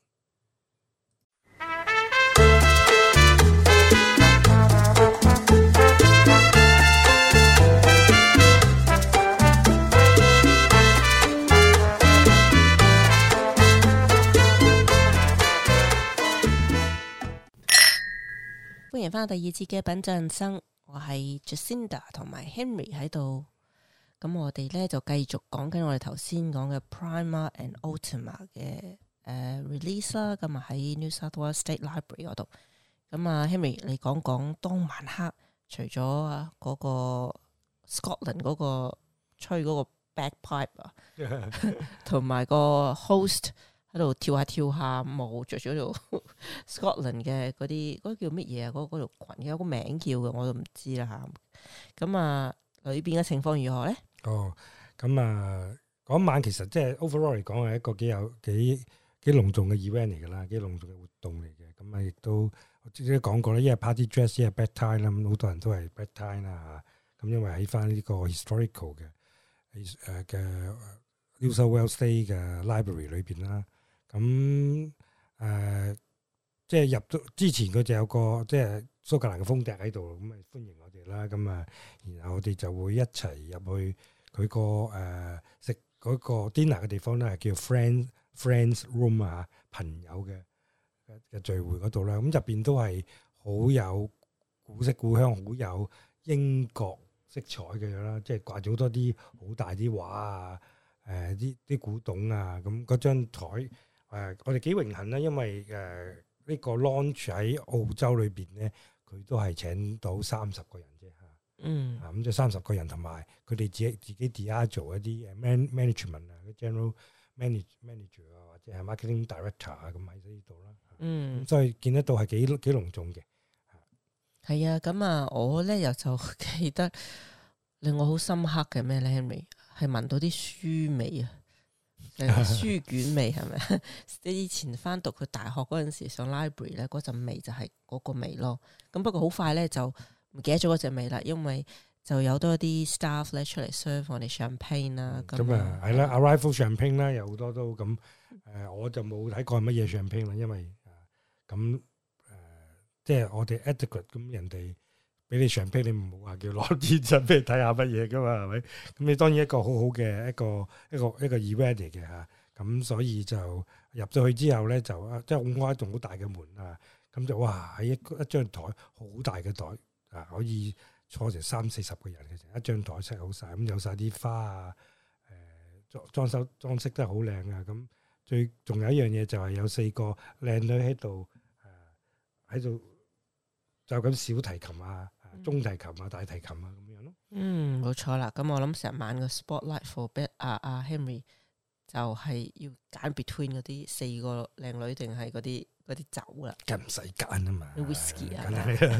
歡迎翻到第二節嘅品酒人生，我係 Jacinda 同埋 Henry 喺度。咁我哋咧就繼續講緊我哋頭先講嘅 Prima and Ultima 嘅release 啦。咁啊喺 New South Wales State Library 嗰度。咁啊 Henry，你講講當晚黑除咗嗰個 Scotland 嗰個吹嗰個 bagpipe 啊，同埋個 host 喺度跳下舞，着咗條 Scotland 嘅嗰啲叫乜嘢啊？嗰條裙有個名叫嘅，我都唔知啦嚇。咁啊，裏邊嘅情況如何咧？ 哦，咁啊，嗰晚其實即係 overall 嚟講係一個幾隆重嘅 event 嚟㗎啦，幾隆重嘅活動嚟嘅。咁啊，亦都我之前都講過咧，一係 party dress，一係 bedtime 啦。咁好多人都係 bedtime 啦嚇。咁因為喺翻呢個 historical 嘅New South Wales State 嘅 library 裏邊啦。咁即係入到之前佢就有個即係蘇格蘭嘅風笛喺度，咁啊歡迎我哋啦。咁啊，然後我哋就會一齊入去佢個食嗰個 dinner 嘅地方咧，係叫 friends room 啊，朋友嘅聚會嗰度啦。咁入邊都係好有古色古香，好有英國色彩嘅啦，即係掛咗好多啲好大啲畫啊，啲古董啊，咁嗰張台。我哋幾榮幸啦，因為呢個 launch 喺澳洲裏邊咧，佢都係請到30個人啫嚇。咁即係30個人，同埋佢哋自己 Diageo 一啲management 啊，general manager 啊，或者係 marketing director 啊，咁喺呢度啦。所以見得到係幾隆重嘅。 係啊，咁啊，我咧又就記得令我好深刻嘅咩咧 ，Henry 係聞到啲書味啊！書卷味係咪？你以前翻讀佢大學嗰陣時上 library 咧，嗰陣味就係嗰個味咯。咁不過好快咧就唔記得咗嗰隻味啦，因為就有多啲 staff 咧出嚟 serve 我哋 champagne 啦。 咁啊係啦 ，arrival champagne 啦，有好多都咁。我就冇睇過係乜嘢 champagne 啦，因為咁即係我哋 adequate 咁人哋。俾你 champagne，你唔好話叫攞啲真俾你睇下乜嘢噶嘛，係咪？咁你當然一個好好嘅一個 event 嚟嘅嚇。咁所以就入咗去之後咧，就即係開一棟好大嘅門啊。咁就哇喺一張台好大嘅台啊，可以坐成30-40個人嘅，成一張台 set 好晒。咁有晒啲花啊，裝飾得好靚啊。咁最仲有一樣嘢就係有4個靚女喺度就咁小提琴啊。中提琴啊、大提琴啊咁樣咯。 冇錯啦。咁我諗成晚個 spotlight for Henry 就係要揀 between 嗰啲4個靚女定係嗰啲酒啦。梗唔使揀啊嘛。whisky 啊。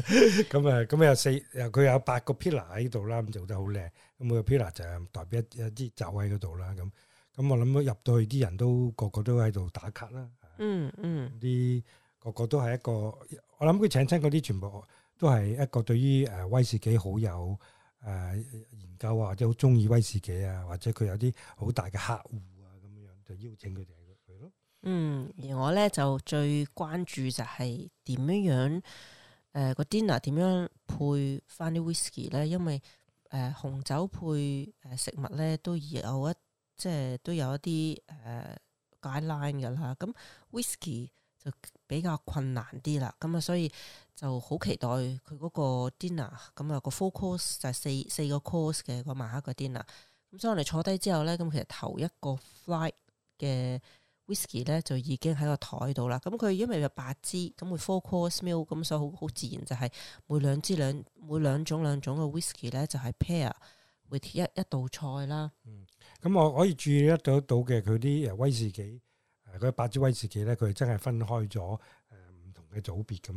咁佢有8個 pillar 喺度啦，咁做得好靚。咁每個 pillar 就係代表一支酒喺嗰度啦。咁我諗入到去啲人都個個都喺度打卡啦。啲個個都係一個，我諗佢請親嗰啲全部。都係一個對於威士忌好有研究啊，或者好中意威士忌啊，或者佢有啲好大嘅客戶啊，咁樣就邀請佢哋去咯。 而我咧就最關注就係點樣個 dinner 點樣配翻啲 whisky 咧，因為紅酒配食物咧都有即係都有一啲guideline 㗎啦。咁 whisky 就比較困難啲啦，咁啊所以就好期待佢嗰個 dinner， 咁啊個 full course 就係四個 course 嘅個晚黑個 dinner。咁所以我哋坐低之後咧，咁其實頭一個 flight 嘅 whisky 咧就已經喺個台度啦。咁佢因為有8支，咁會 full course meal，咁所以好自然就係每兩種嘅 whisky 咧就係 pair with 一道菜啦。 咁我可以注意得到嘅佢啲威士忌。嗰8支威士忌咧，佢真係分開咗唔同嘅組別咁樣咯嚇。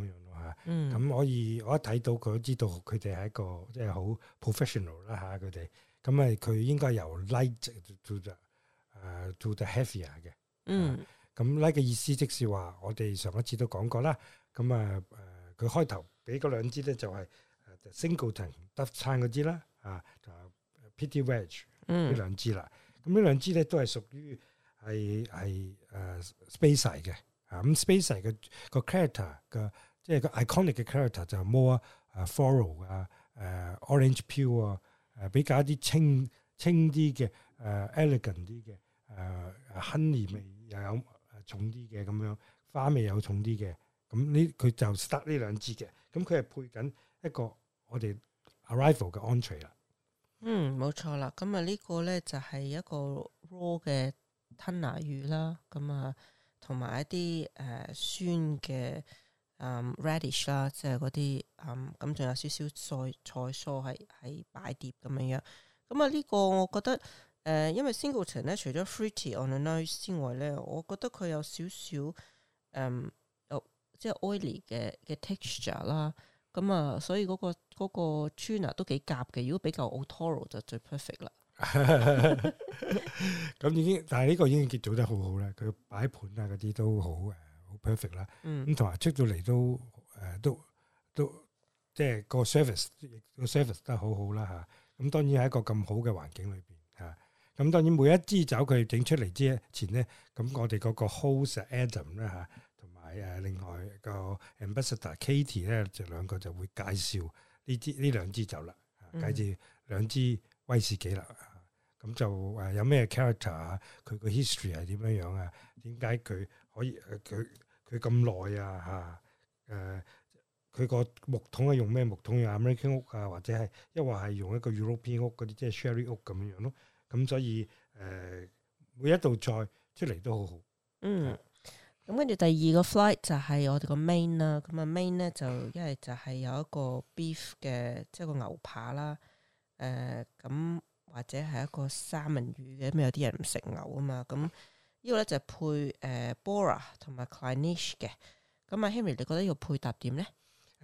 嚇。咁我一睇到佢都知道佢哋係一個即係好 professional 啦嚇佢哋。咁佢應該由 light to the heavier 嘅。咁 light 嘅意思即是話我哋上一次都講過啦。咁佢開頭俾嗰兩支咧就係 Singleton Duff Time 嗰支啦，就 Petty Wedge 呢兩支啦。咁呢兩支咧都係屬於係Speyside 嘅。咁 Speyside 嘅個 character 嘅即係個 iconic 嘅 character 就係 more floral orange peel 比較一啲清啲嘅elegant 啲嘅honey 味又有重啲嘅咁樣，花味有重啲嘅。咁佢就 start 呢兩支嘅，咁佢係配緊一個我哋 arrival 嘅 entree 啦。 冇錯啦。咁呢個咧就係一個 raw 嘅吞拿魚啦。咁同埋一啲酸嘅radish 啦，即係嗰啲咁仲有少少菜蔬係擺碟咁樣。咁呢個我覺得因為 Singleton 咧除咗 fruity on the nose 之外咧，我覺得佢有少少即係 oily 嘅 texture 啦，咁所以嗰個 tuna 都幾夾嘅。如果比較 Otoro 就最 perfect 啦。 咁已經，但係呢個已經結做得好好啦。佢擺盤嗰啲都好perfect 啦。咁同埋出到嚟都即係個 service 都好好啦嚇。咁當然喺一個咁好嘅環境裏邊嚇。咁當然每一支酒佢整出嚟之前咧，咁我哋嗰個 host Adam 啦嚇。另外個 ambassador Katie 咧，就兩個就會介紹呢兩支酒啦，介紹兩支威士忌啦。咁就有咩 character 啊？佢個 history 係點樣啊？點解佢可以佢咁耐啊？佢個木桶係用咩木桶？用 American 屋啊，或者係一話係用一個 European 屋嗰啲，即係 Sherry 屋咁樣咯。咁所以每一道菜出嚟都好好。 咁跟住第二個 flight 就係我哋個 main 啦，咁main 咧就一係就係有一個 beef 嘅，即係個牛扒啦，咁或者係一個三文魚嘅，咁有啲人唔食牛啊嘛，咁呢個咧就配Bora 同埋 Clynelish 嘅，咁Henry 你覺得呢個配搭點咧？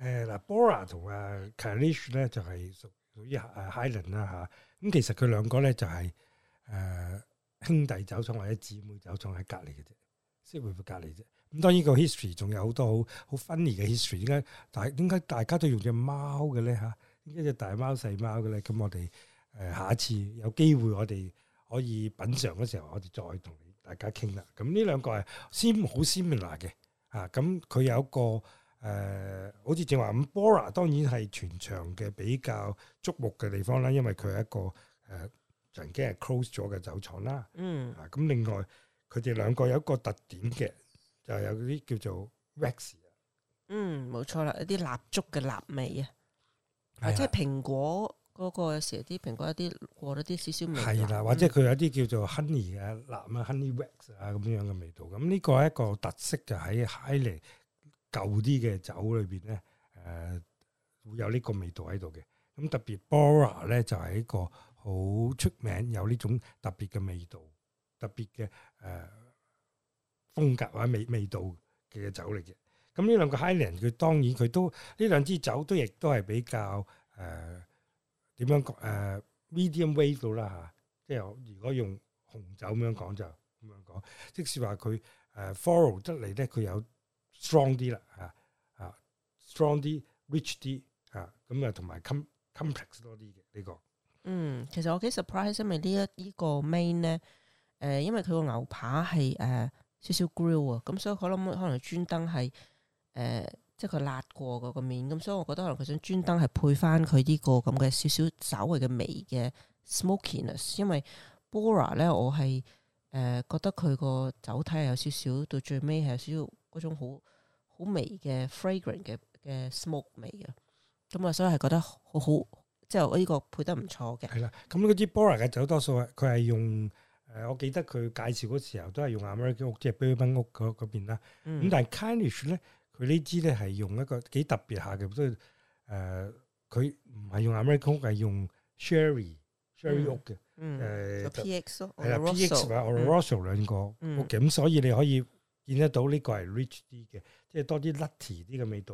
Bora 同Clynelish 咧就係屬於Highland 啦嚇，咁其實佢兩個咧就係兄弟酒廠或者姊妹酒廠喺隔離嘅啫。即係會隔離啫。咁當然個 history 仲有好多好 funny 嘅 history。點解大家都用隻貓嘅咧嚇？點解隻大貓細貓嘅咧？咁我哋下一次有機會我哋可以品嚐嗰時候，我哋再同大家傾啦。咁呢兩個係好 similar 嘅嚇。咁佢有一個好似正話咁 Bora 當然係全場嘅比較矚目嘅地方啦，因為佢係一個曾經係 close 咗嘅酒廠啦。咁另外。佢哋兩個有一個特點嘅，就係有啲叫做 wax。 冇錯啦，一啲蠟燭嘅蠟味啊，即係蘋果嗰個有時啲蘋果有啲過咗啲少少味。係啦， 或者佢有啲叫做 honey 嘅蠟啊 ，honey wax 咁樣嘅味道。咁呢個係一個特色，就喺 Highland 舊啲嘅酒裏邊咧，會有呢個味道喺度嘅。咁特別 Bora 咧就係一個好出名，有呢種特別嘅味道。特別嘅風格或者味道嘅酒嚟嘅，咁呢兩個 Highland 佢當然佢都呢兩支酒都亦都係比較點樣講medium weight 到啦嚇，即係如果用紅酒咁樣講就咁樣講，即使話佢floral 得嚟咧，佢有 strong 啲啦嚇strong 啲 rich 啲嚇，咁同埋 complex 多啲嘅呢個。 其實我幾 surprise，因為呢個 main 咧。因為佢個牛扒係少少 grill 啊，咁所以可能專登係即係佢辣過嗰個面，咁所以我覺得可能佢想專登係配翻佢呢個咁嘅少少稍微嘅微嘅 smokiness。因為 Bora 咧，我係覺得佢個酒體係有少少到最尾係有少少嗰種好微嘅 fragrant 嘅 smoke 味啊，咁啊所以係覺得好好，即係我呢個配得唔錯嘅。 係啦，咁嗰支 Bora 嘅酒多數佢係用。我記得佢介紹嗰時候都係用 American 屋，即係 Bourbon 屋嗰邊啦。咁但係 Clynelish 咧，佢呢支咧係用一個幾特別下嘅，所以佢唔係用 American 屋，係用 Sherry 屋嘅。 PX 咯， 係啦 ，PX 或者 Oloroso 兩個屋嘅。咁所以你可以見得到呢個係 rich 啲嘅，即係多啲 nutty 啲嘅味道啊，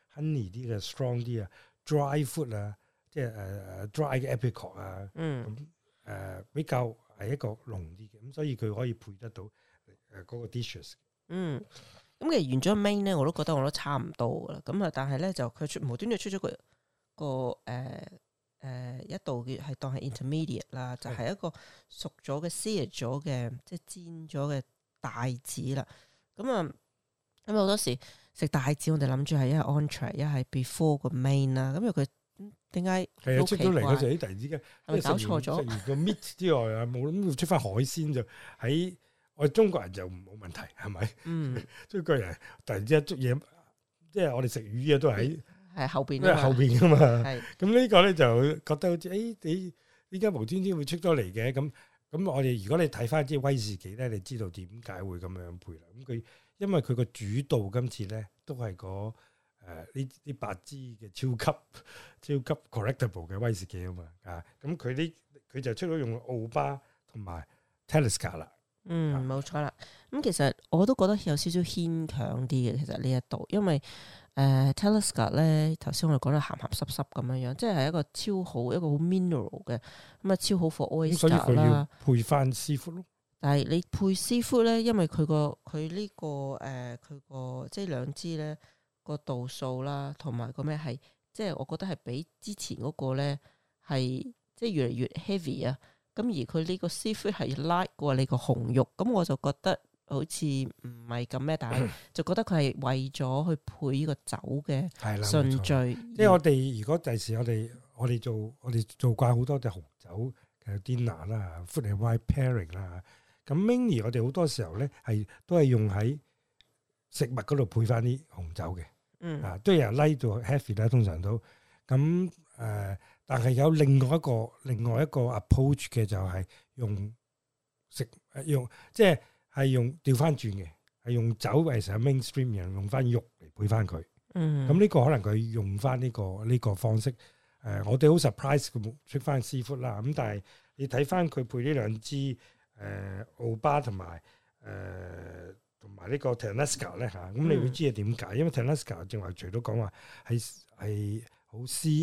honey 啲嘅 strong 啲啊 ，dry fruit 啊，即係dry 嘅 apricot 啊，咁比較係一個濃啲嘅，咁所以佢可以配得到嗰個 dishes。 咁其實完咗 main 咧，我都覺得我都差唔多噶啦。咁啊，但係咧就佢無端端出咗個一道嘅係當係 intermediate 啦，就係一個熟咗嘅 sear 咗嘅，即係煎咗嘅帶子啦。咁啊，咁好多時食帶子，我哋諗住係一係 entree，一係 before 個 main 啦。咁因為佢點解係啊出咗嚟嗰陣，突然之間係咪搞錯咗？ 食完個 meat 之外啊，冇諗出翻海鮮就喺我哋中國人就冇問題係咪？中國人突然之間捉嘢，即係我哋食魚嘅都係喺後邊，因為後邊噶嘛。咁呢個咧就覺得好似你依家無端端會出咗嚟嘅咁我哋如果你睇翻啲威士忌咧，你知道點解會咁樣配啦？咁佢因為佢個主導今次咧都係呢八支嘅超級 correctable 嘅威士忌啊嘛咁佢就出咗用奧巴同埋 Talisker 啦。 冇錯啦。咁其實我都覺得有少少牽強啲嘅，其實呢一度，因為Talisker 咧，頭先我哋講得鹹鹹濕濕咁樣，即係一個超好一個好 mineral 嘅咁啊，超好 for oyster 啦。所以佢要配翻 seafood 咯。 但係你配 seafood 咧，因為佢呢個即係兩支咧個度數啦，同埋個咩係，即係我覺得係比之前嗰個咧係即係越嚟越 heavy 啊。咁而佢呢個 seafood 係 light 過你個紅肉，咁我就覺得好似唔係咁咩，但係就覺得佢係為咗去配呢個酒嘅順序。 即係我哋如果第時我哋做慣好多隻紅酒嘅 dinner 啦 ，food and wine pairing 啦，咁 mainly 我哋好多時候咧都係用喺食物嗰度配翻啲紅酒嘅，都有人 light 到 heavy 啦，通常都咁但係有另外一個 approach 嘅就係用即係用調翻轉嘅，係用酒為成 mainstream，然後用翻肉嚟配翻佢。咁呢個可能佢用翻呢個方式。我哋好 surprise 佢冇出翻 seafood 啦。咁但係你睇翻佢配呢兩支奧巴同埋呢個 Talisker 咧嚇，咁你會知係點解？因為 Talisker 正話除咗講話係好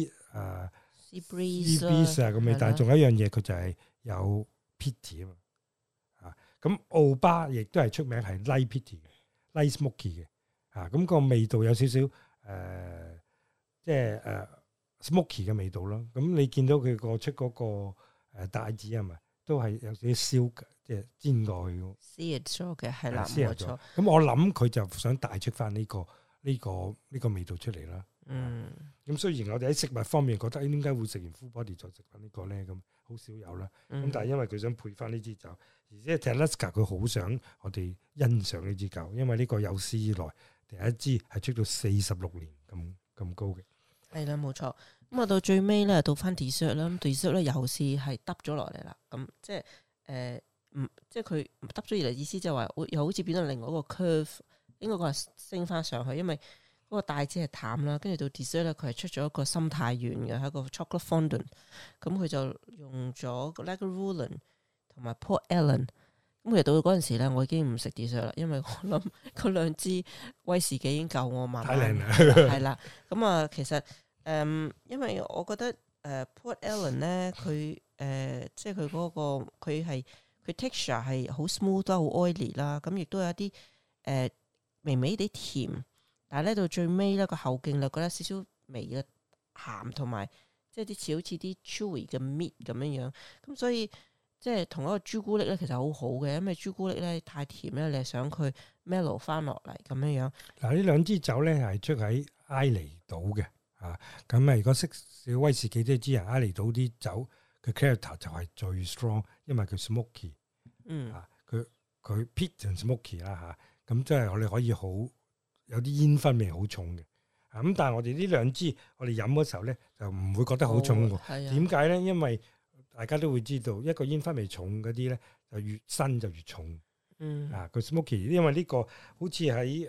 sea breeze 啊咁味，但係仲有一樣嘢，佢就係有 peaty 啊嘛，咁奧巴亦都係出名係 light peaty 嘅 light smoky 嘅，咁個味道有少少即係smoky 嘅味道咯。咁你見到佢出嗰個帶子係咪都係有少少燒嘅，即係煎過去嘅 sear 咗嘅係啦，冇錯。 咁我諗佢就想帶出翻呢個味道出嚟啦。咁雖然我哋喺食物方面覺得點解會食完 full body 再食翻呢個咧？咁好少有啦。咁但係因為佢想配翻呢支酒，而且 Talisker 佢好想我哋欣賞呢支酒，因為呢個有史以來第一支係出到46年咁高嘅。係啦，冇錯。咁啊到最尾咧，到翻 dessert 啦，dessert 咧又是係耷咗落嚟啦。咁即係即係佢耷咗落嚟，意思就係話又好似變咗另外一個 curve， 應該講係升翻上去，因為嗰個帶子係淡啦，跟住到 dessert 咧，佢係出咗一個心太軟嘅，係一個 chocolate fondant。咁佢就用咗 Lagavulin 同埋 Port Ellen。咁其實到嗰陣時咧，我已經唔食 dessert 啦，因為我諗嗰兩支威士忌已經夠我慢慢。太靚啦，係啦。咁啊，其實因為我覺得Port Ellen 咧，佢即係佢嗰個佢 texture 係好 smooth 啦，好 oily 啦，咁亦都有一啲微微啲甜。但係咧到最尾咧個後勁就覺得少少微嘅鹹，同埋即係啲似好似啲 chewy 嘅 meat 咁樣樣。咁所以即係同一個朱古力咧，其實好好嘅，因為朱古力咧太甜咧，你係想佢 mellow 翻落嚟咁樣樣。嗱，呢兩支酒咧係出喺埃尼島嘅咁啊，如果識少威士忌都知啊，埃尼島啲酒嘅 character 就係最 strong， 因為佢 smoky，佢 peat and smoky 啦咁即係我哋可以好。有啲煙燻味好重嘅，咁但係我哋呢兩支我哋飲嗰時候咧就唔會覺得好重喎。點解咧？因為大家都會知道一個煙燻味重嗰啲咧就越新就越重。個 smoky， 因為呢個好似喺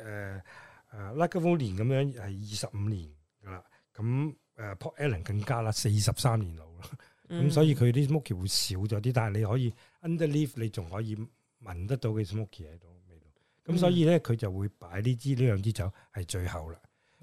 Lagavulin 咁樣係25年噶啦，咁Port Ellen 更加啦，43年老啦。咁所以佢啲 smoky 會少咗啲，但係你可以 underleaf 你仲可以聞得到嘅 smoky 喺度。咁所以咧，佢就會擺呢兩支酒係最後啦。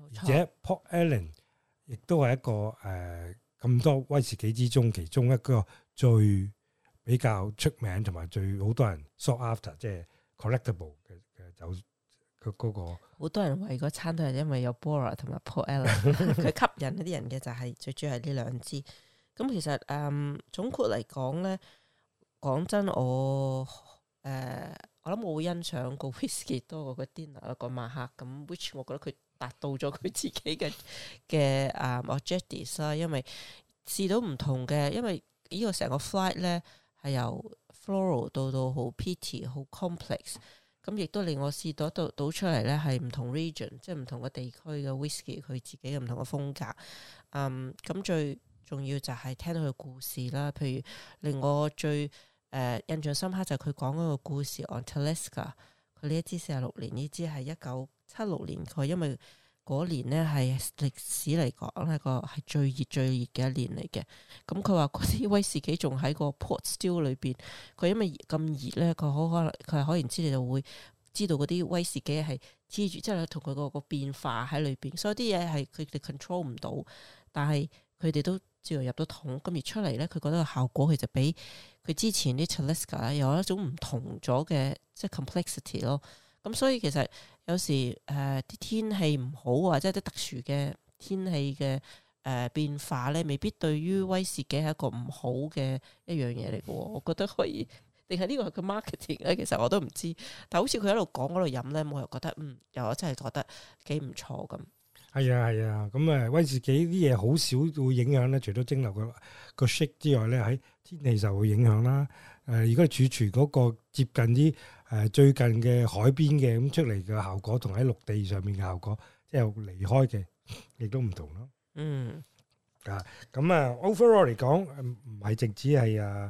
而且 Port Ellen 亦都係一個咁多威士忌之中其中一個最比較出名同埋最好多人 sought after 即係 collectible 嘅酒嗰個。 好多人為嗰餐都係因為有 Bora 同埋 Port Ellen 佢吸引一啲人嘅就係最主要係呢兩支。咁其實總括嚟講咧，講真我諗我會欣賞個 whisky 多過個 dinner 個晚黑咁 which 我覺得佢達到咗佢自己嘅objectives 啦，因為試到唔同嘅，因為呢個成個 flight 咧係由 floral 到好 peaty 好 complex， 咁亦都令我試到倒出嚟咧係唔同 region 即係唔同嘅地區嘅 whisky 佢自己嘅唔同嘅風格。咁最重要就係聽到佢故事啦，譬如令我最印象深刻就係佢講嗰個故事 on Talisker， 佢呢一支46年，呢支係1976年，佢因為嗰年呢係歷史嚟講係最熱嘅一年嚟嘅。咁佢話嗰啲威士忌仲喺個 pot still 裏邊，佢因為咁熱咧，佢好可能佢係可然知你就會知道嗰啲威士忌係黐住，即係同佢個變化喺裏邊，所以啲嘢係佢哋 control 唔到，但係佢哋都照入到桶，咁而出嚟咧，佢覺得個效果其實比佢之前啲 Talisker 有一種唔同咗嘅即係 complexity 咯。咁所以其實有時啲天氣唔好或者啲特殊嘅天氣嘅變化咧，未必對於威士忌係一個唔好嘅一樣嘢嚟嘅。我覺得可以，定係呢個係佢 marketing 咧？其實我都唔知。但好似佢喺度講嗰度飲咧，我又覺得又我真係覺得幾唔錯咁。係啊，咁威士忌啲嘢好少會影響咧，除咗蒸餾個 shake 之外咧，喺天氣就會影響啦。如果儲存嗰個接近啲最近嘅海邊嘅咁出嚟嘅效果，同喺陸地上面嘅效果，即係離開嘅，亦都唔同咯。overall 嚟講，唔係淨止係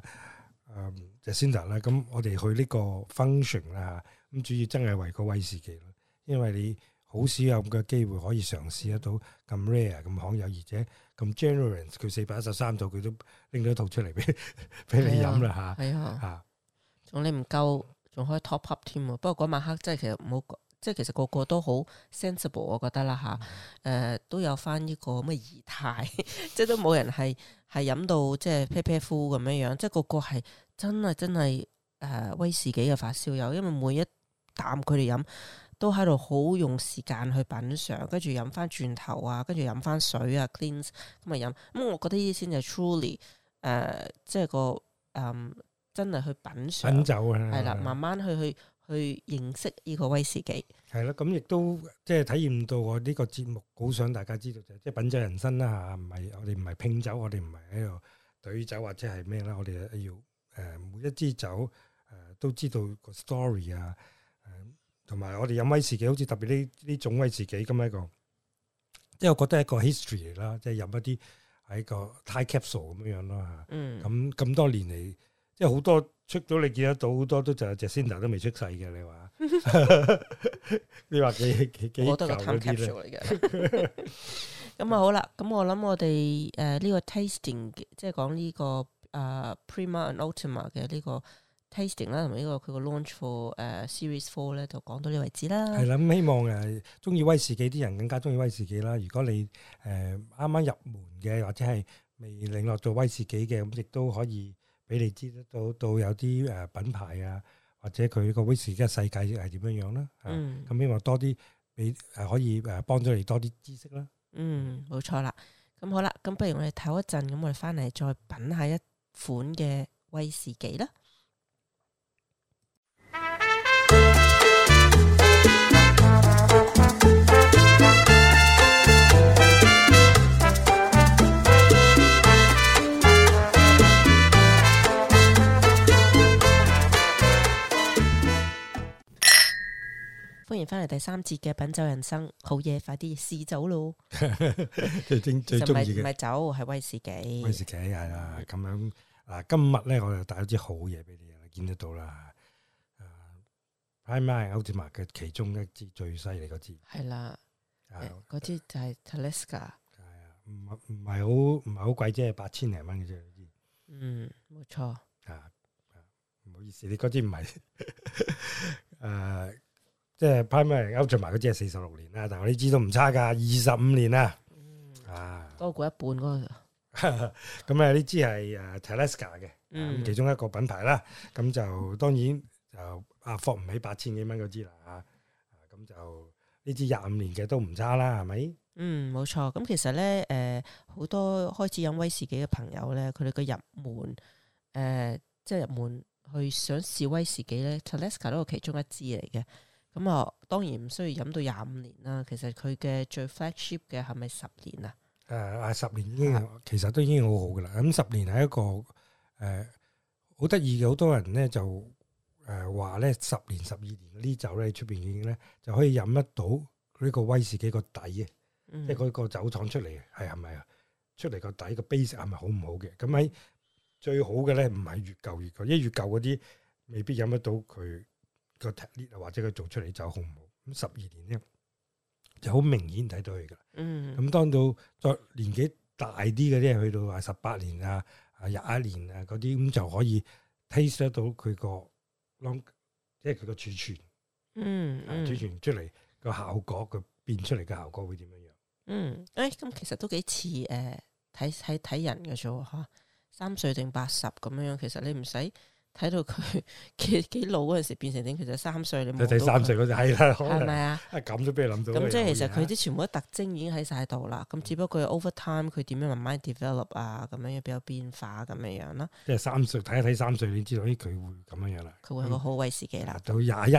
Jacinda 啦。咁我哋去呢個 function 啦，咁主要真係為個威士忌咯，因為你好少有咁嘅機會可以嘗試得到咁 rare 咁罕有，而且咁 generous， 佢413度佢都拎咗一套出嚟俾你飲啦嚇。 仲你唔夠，仲可以 top up 添喎。不過嗰晚黑真係其實冇，即係其實個個都好 sensible， 我覺得啦嚇。都有翻呢個咁嘅儀態，即係都冇人係飲到即係啤啤呼咁樣樣，即係個個係真係威士忌嘅發燒友，因為每一啖佢哋飲都喺度好用時間去品嚐，跟住飲翻轉頭啊，跟住飲翻水啊 cleanse 咁咪飲。咁我覺得呢啲先係 truly 即係個真係去品嚐酒啊，係啦，慢慢去認識呢個威士忌。 係啦，咁亦都即係體驗到我呢個節目好想大家知道就係即係品酒人生啦嚇，唔係我哋唔係拼酒，我哋唔係喺度對酒或者係咩啦，我哋要每一支酒都知道個 story 啊。同埋我哋飲威士忌，好似特別呢種威士忌咁一個，即係我覺得係一個 history 嚟啦，即係飲一啲喺個 time capsule 咁樣咯嚇。咁多年嚟，即係好多出咗你見得到，好多都就係 Jacinda 都未出世嘅。你話幾我覺得個 time capsule 嚟嘅。咁好啦，咁我諗我哋呢個 tasting 即係講呢個Prima and Ultima 嘅呢個tasting 啦，同埋呢個佢個 launch for Series 4咧，就講到呢為止啦。 係啦，咁希望中意威士忌啲人更加中意威士忌啦。如果你啱啱入門嘅，或者係未領略做威士忌嘅，咁亦都可以俾你知得到有啲品牌啊，或者佢個威士忌嘅世界係點樣樣啦。咁希望多啲俾可以幫咗你多啲知識啦。 冇錯啦。咁好啦，咁不如我哋唞一陣，咁我哋翻嚟再品下一款嘅威士忌啦。歡迎翻嚟第3節嘅品酒人生，好嘢，快啲試酒咯！ 最中意嘅唔係酒，係威士忌。 威士忌係啦，咁樣今日咧我就帶咗支好嘢俾你，見得到啦。Prima and Ultima 嘅其中一支最犀利嗰支係啦，嗰支就係 Talisker。 係啊，唔係好貴，即係8000零蚊嘅啫。 冇錯。 唔好意思，你嗰支唔係即係 Primary Ultimate 嗰支係46年啦，但係我呢支都唔差㗎，25年啦， 多過一半嗰個。 咁呢支係Talisker 嘅，咁其中一個品牌啦。咁就當然就貨唔起8000幾蚊嗰支啦嚇。咁就呢支25年嘅都唔差啦，係咪？ 冇錯。咁其實咧好多開始飲威士忌嘅朋友咧，佢哋嘅入門即係入門去想試威士忌咧 Talisker 都係其中一支嚟嘅。咁當然唔需要飲到25年啦。其實佢嘅最 flagship 嘅係咪10年啊 ？10年已經其實都已經好好㗎啦。咁10年係一個好得意嘅，好多人咧就話咧10年12年嗰啲酒咧出邊已經咧就可以飲得到呢個威士忌個底嘅，即係嗰個酒廠出嚟係咪啊？出嚟個底個 base 係咪好唔好嘅？咁喺最好嘅咧唔係越舊越舊，因為越舊嗰啲未必飲得到佢個 technique 或者佢做出嚟酒好唔好。咁12年咧就好明顯睇到佢噶啦。咁當到再年紀大啲嘅啲，去到話18年啊、21年啊嗰啲，咁就可以 taste 得到佢個 long， 即係佢個儲存，儲存出嚟個效果，佢變出嚟嘅效果會點樣樣？ 咁其實都幾似睇人嘅啫嚇，3歲定80咁樣，其實你唔使睇到佢幾老嗰陣時變成點，其實3歲你冇睇 3歲嗰陣係啦， 係咪啊？ 咁都俾你諗到。 咁即係其實佢啲全部啲特徵已經喺晒度啦。咁只不過 over time 佢點樣慢慢 develop 啊，咁樣比較變化咁樣啦。 即係3歲睇一睇3歲，你知道佢會咁樣樣啦。 佢會係個好威士忌啦。到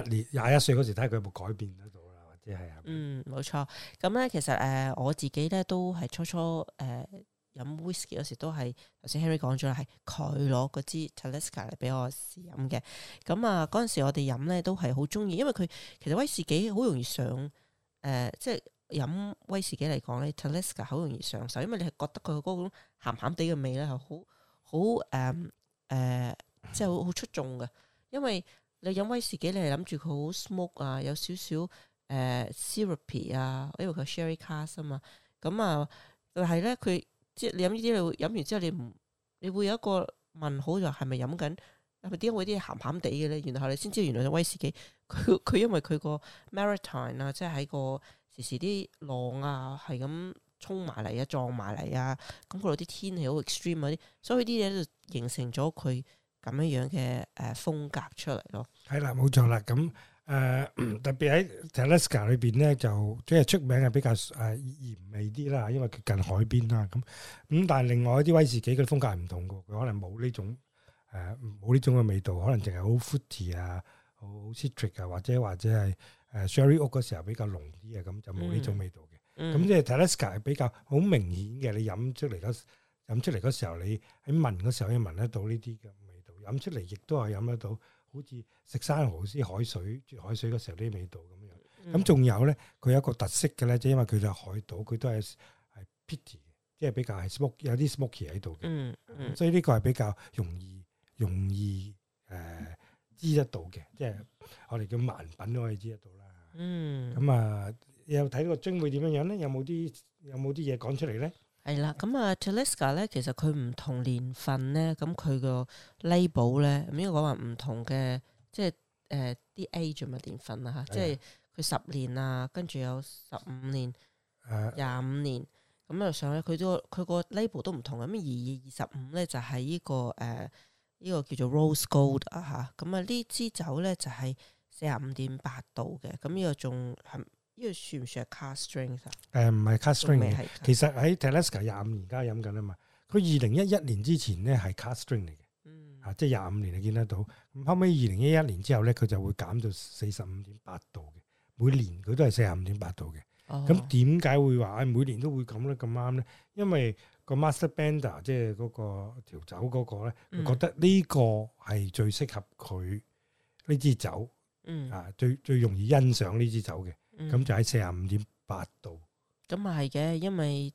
21歲嗰時睇下佢有冇改變得到啦，或者係冇錯。咁咧其實我自己咧都係初初飲 whisky 嗰時都係頭先 Henry 講咗啦，係佢攞嗰支 Talisker 嚟俾我試飲嘅。咁嗰陣時我哋飲咧都係好中意，因為佢其實威士忌好容易上即係飲威士忌嚟講咧 Talisker 好容易上手，因為你係覺得佢嗰種鹹鹹地嘅味咧係好即係好出眾嘅。因為你飲威士忌你係諗住佢好 smoke 啊，有少少syrupy 啊，因為佢 sherry cask 啊嘛。咁但係咧佢即係你飲呢啲，你飲完之後你會有一個問號，就係咪飲緊？係咪點解會啲鹹鹹地嘅咧？然後你先知道原來威士忌佢因為佢個 maritime 啊，即係喺個時啲浪啊係咁衝埋嚟啊，撞埋嚟啊，咁嗰度啲天氣好 extreme 嗰啲，所以啲嘢就形成咗佢咁樣嘅風格出嚟咯。 係啦，冇錯啦，咁。特別喺 Talisker 裏邊咧，就即係出名係比較鹽味啲啦，因為佢近海邊啦。咁但係另外一啲威士忌嘅風格係唔同嘅，佢可能冇呢種冇呢種嘅味道，可能淨係好 fruity 啊，好 citric 啊，或者係sherry oak 嗰時候比較濃啲啊，咁就冇呢種味道嘅。咁即係 Talisker 係比較好明顯嘅，你飲出嚟嗰時候，你喺聞嗰時候可以聞得到呢啲嘅味道，飲出嚟亦都係飲得到。好似食生蠔絲海水啜海水嗰時候啲味道咁樣，咁仲有咧，佢有一個特色嘅咧，即係因為佢就係海島，佢都係peaty，即係比較係 smoke，有啲 smoky 喺度嘅，所以呢個係比較容易知得到嘅，即係我哋叫盲品都可以知得到啦。咁有睇個樽會點樣樣咧？有冇啲嘢講出嚟咧？ 係啦，咁Talisker 咧，其實佢唔同年份咧，咁佢個 label 咧，咁應該講話唔同嘅，即係啲 age 嘅年份啦嚇，即係佢10年啊，跟住有15年、25年，咁啊上咧佢個 label 都唔同嘅，咁25咧就係呢個叫做 Rose Gold 啊嚇，咁呢支酒咧就係45.8度嘅，咁呢個仲係。呢個算唔算係 cask strength 啊？唔係 cask strength 嘅，其實喺 Talisker 25年而家飲緊啊嘛。佢2011年之前咧係 cask strength 嚟嘅，即係25年你見得到。咁後尾2011年之後咧，佢就會減到45.8度嘅，每年佢都係45.8度嘅。咁點解會話每年都會咁咧？咁啱咧？因為個 master blender 即係嗰個調酒嗰個咧，佢覺得呢個係最適合佢呢支酒，最容易欣賞呢支酒嘅。咁就喺45.8度。 咁啊係嘅，因為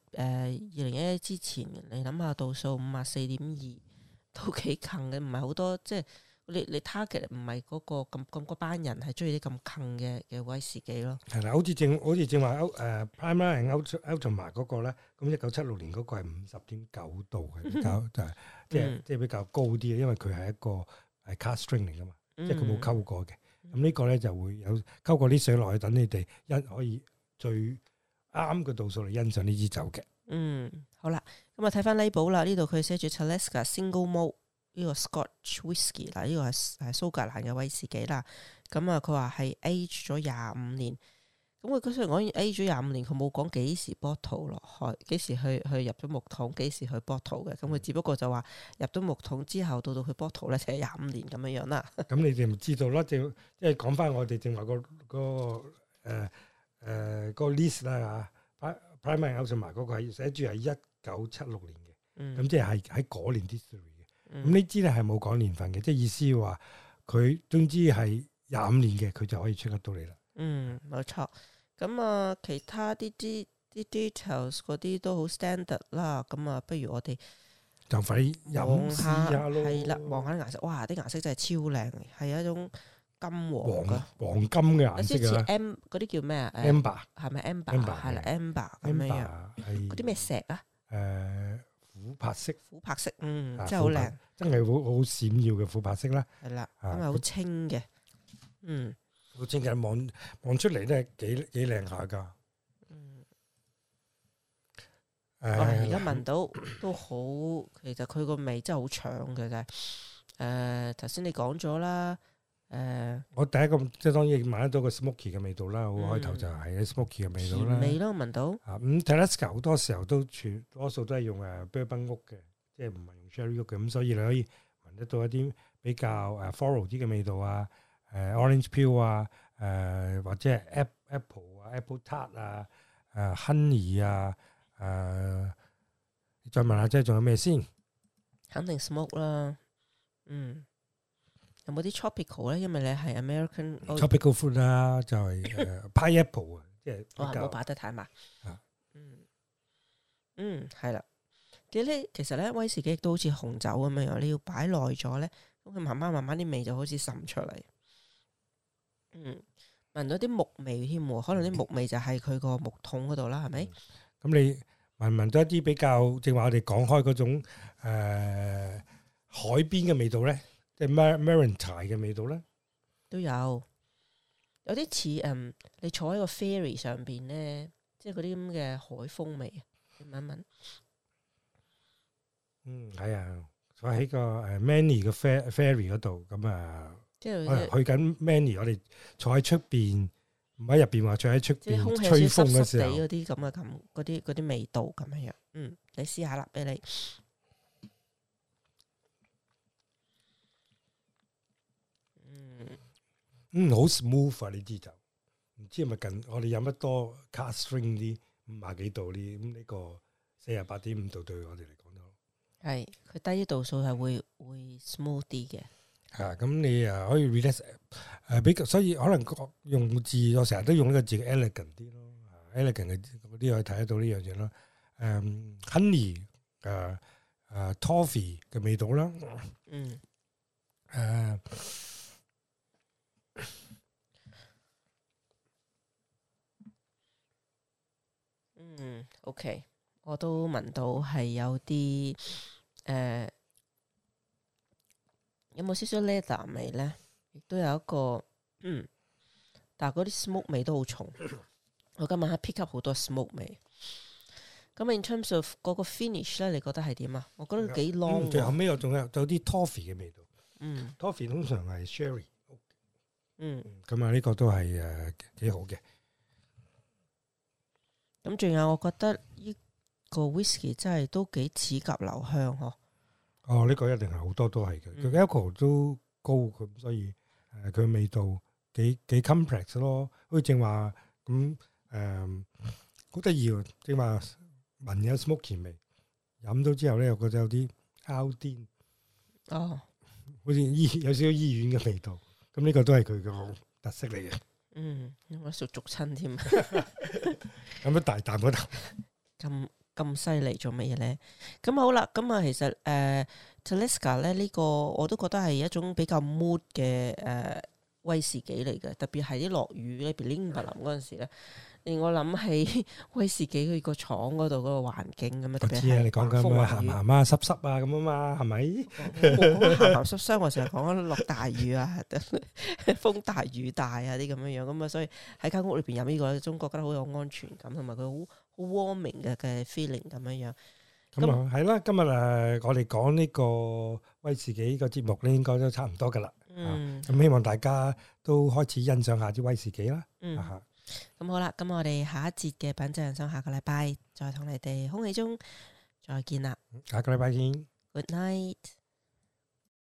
2011之前你諗下度數54.2都幾近嘅，唔係好多，即係你 target 唔係嗰個咁嗰班人係中意啲咁近嘅威士忌咯。係啦，好似正話 Primary and Ultimate 嗰個咧，咁1976年嗰個係50.9度嘅，比較就係即係比較高啲，因為佢係一個係 cask strength 嚟噶嘛，即係佢冇溝過嘅。 咁呢個咧就會有溝過啲水落去，等你哋可以最啱嘅度數嚟欣賞呢支酒嘅。 好啦，咁啊睇翻 label 啦，呢度佢寫住 Talisker Single Malt 呢個 Scotch Whisky 嗱，呢個係蘇格蘭嘅威士忌啦。咁啊佢話係 age 咗25年。咁佢雖然講 age 咗25年，佢冇講幾時 bottle 落去，幾時去入咗木桶，幾時去 bottle 嘅。咁佢只不過就話入咗木桶之後，到佢 bottle 咧，就係25年咁樣啦。 咁你哋咪知道啦，即係講翻我哋正話個 list 啦嚇，Primark and Outama嗰個係寫住係1976年嘅，咁即係喺嗰年 distillery 嘅。咁呢支咧係冇講年份嘅，即係意思話佢總之係25年嘅，佢就可以出得到嚟啦。 冇錯。咁啊，其他啲 details 嗰啲都好 standard 啦。咁啊，不如我哋就快飲下咯。 係啦，望下啲顏色，哇！啲顏色真係超靚，係一種金黃黃金嘅顏色似 M 嗰啲叫咩啊 ？amber 係咪 amber？ 係啦 ，amber 咁樣。嗰啲咩石啊？ 琥珀色。 琥珀色，真係好靚， 真係好閃耀嘅琥珀色啦。 係啦，咁啊好清嘅， 好清嘅，望出嚟咧幾靚下噶。 而家聞到都好，其實佢個味真係好搶嘅啫。頭先你講咗啦， 我第一個即係當然聞得到個 smoky 嘅味道啦，好開頭就係 smoky 嘅味道啦。 味咯，聞到。 咁 Talisker 好多時候多數都係用bourbon oak嘅，即係唔係用 sherry oak 嘅，咁所以你可以聞得到一啲比較floral 啲嘅味道啊。orange peel 啊，或者係 apple 啊 ，apple tart 啊，honey 啊，你再問下即係仲有咩先？ 肯定 smoke 啦，有冇啲 tropical 咧？因為你係 American tropical fruit 啦，就係pineapple 啊，即係唔好擺得太埋。係啦。其實咧威士忌都好似紅酒咁樣，你要擺耐咗咧，咁佢慢慢啲味就好似滲出嚟。聞到啲木味添，可能啲木味就係佢個木桶嗰度啦，係咪？ 咁你聞到一啲比較，正話我哋講開嗰種海邊嘅味道咧，即係 Maritime 嘅味道咧， 都有啲似你坐喺個 ferry 上邊咧，即係嗰啲咁嘅海風味，你聞一聞。 係啊，坐喺個Manly 嘅 ferry 嗰度，咁啊。 即係去緊 Manly，我哋坐喺出邊，唔喺入邊話坐喺出邊吹風嘅時候， 嗰啲咁嘅嗰啲味道咁樣。你試下啦，俾你。 好 smooth 啊！呢支酒，唔知係咪近我哋飲得多 cask strength 啲50幾度啲，咁呢個48.5度對我哋嚟講都係佢低啲度數係會 smooth 啲嘅。 咁你可以 relax 比較，所以可能用字我成日都用呢個字 elegant 啲咯，elegant 嘅嗰啲可以睇得到呢樣嘢咯。honey toffee 嘅味道啦。 OK， 我都聞到係有啲有冇少少 leather 味咧？亦都有一個但係嗰啲 smoke 味都好重。我今晚黑 pick up 好多 smoke 味。咁 in terms of 嗰個 finish 咧，你覺得係點啊？我覺得幾 long。 最後尾我仲有啲 toffee 嘅味道。toffee 通常係 sherry。咁啊，呢個都係幾好嘅。 咁仲有，我覺得呢個 whisky 真係都幾齒頰留香嗬。 呢個一定係好多都係嘅，佢 alcohol 都高，咁所以佢味道幾 complex 咯。好似正話咁好得意喎，正話聞有 smoky 味，飲到之後咧又覺得有啲 alden 好似有少少醫院嘅味道。咁呢個都係佢嘅特色嚟嘅。 我熟親添。 咁一大啖嗰啖咁犀利做乜嘢咧？咁好啦，咁啊其實Talisker 咧呢個我都覺得係一種比較 mood 嘅威士忌嚟嘅，特別係啲落雨咧，譬如淋嗰陣時咧， 令我諗起威士忌佢個廠嗰度嗰個環境咁啊。 我知啊，你講緊咩鹹鹹啊、濕濕啊咁啊嘛，係咪？ 冇講鹹鹹濕濕，我成日講緊落大雨啊、風大雨大啊啲咁樣樣咁啊，所以喺間屋裏邊飲呢個，總覺得好有安全感，同埋佢好 warming 嘅 feeling 咁樣樣。 咁啊，係啦，今日我哋講呢個威士忌個節目咧，應該都差唔多噶啦。咁希望大家都開始欣賞下啲威士忌啦。 咁好啦，咁我哋下一節嘅品酒人生下個禮拜再同你哋空氣中再見啦。 下個禮拜見。 Good night。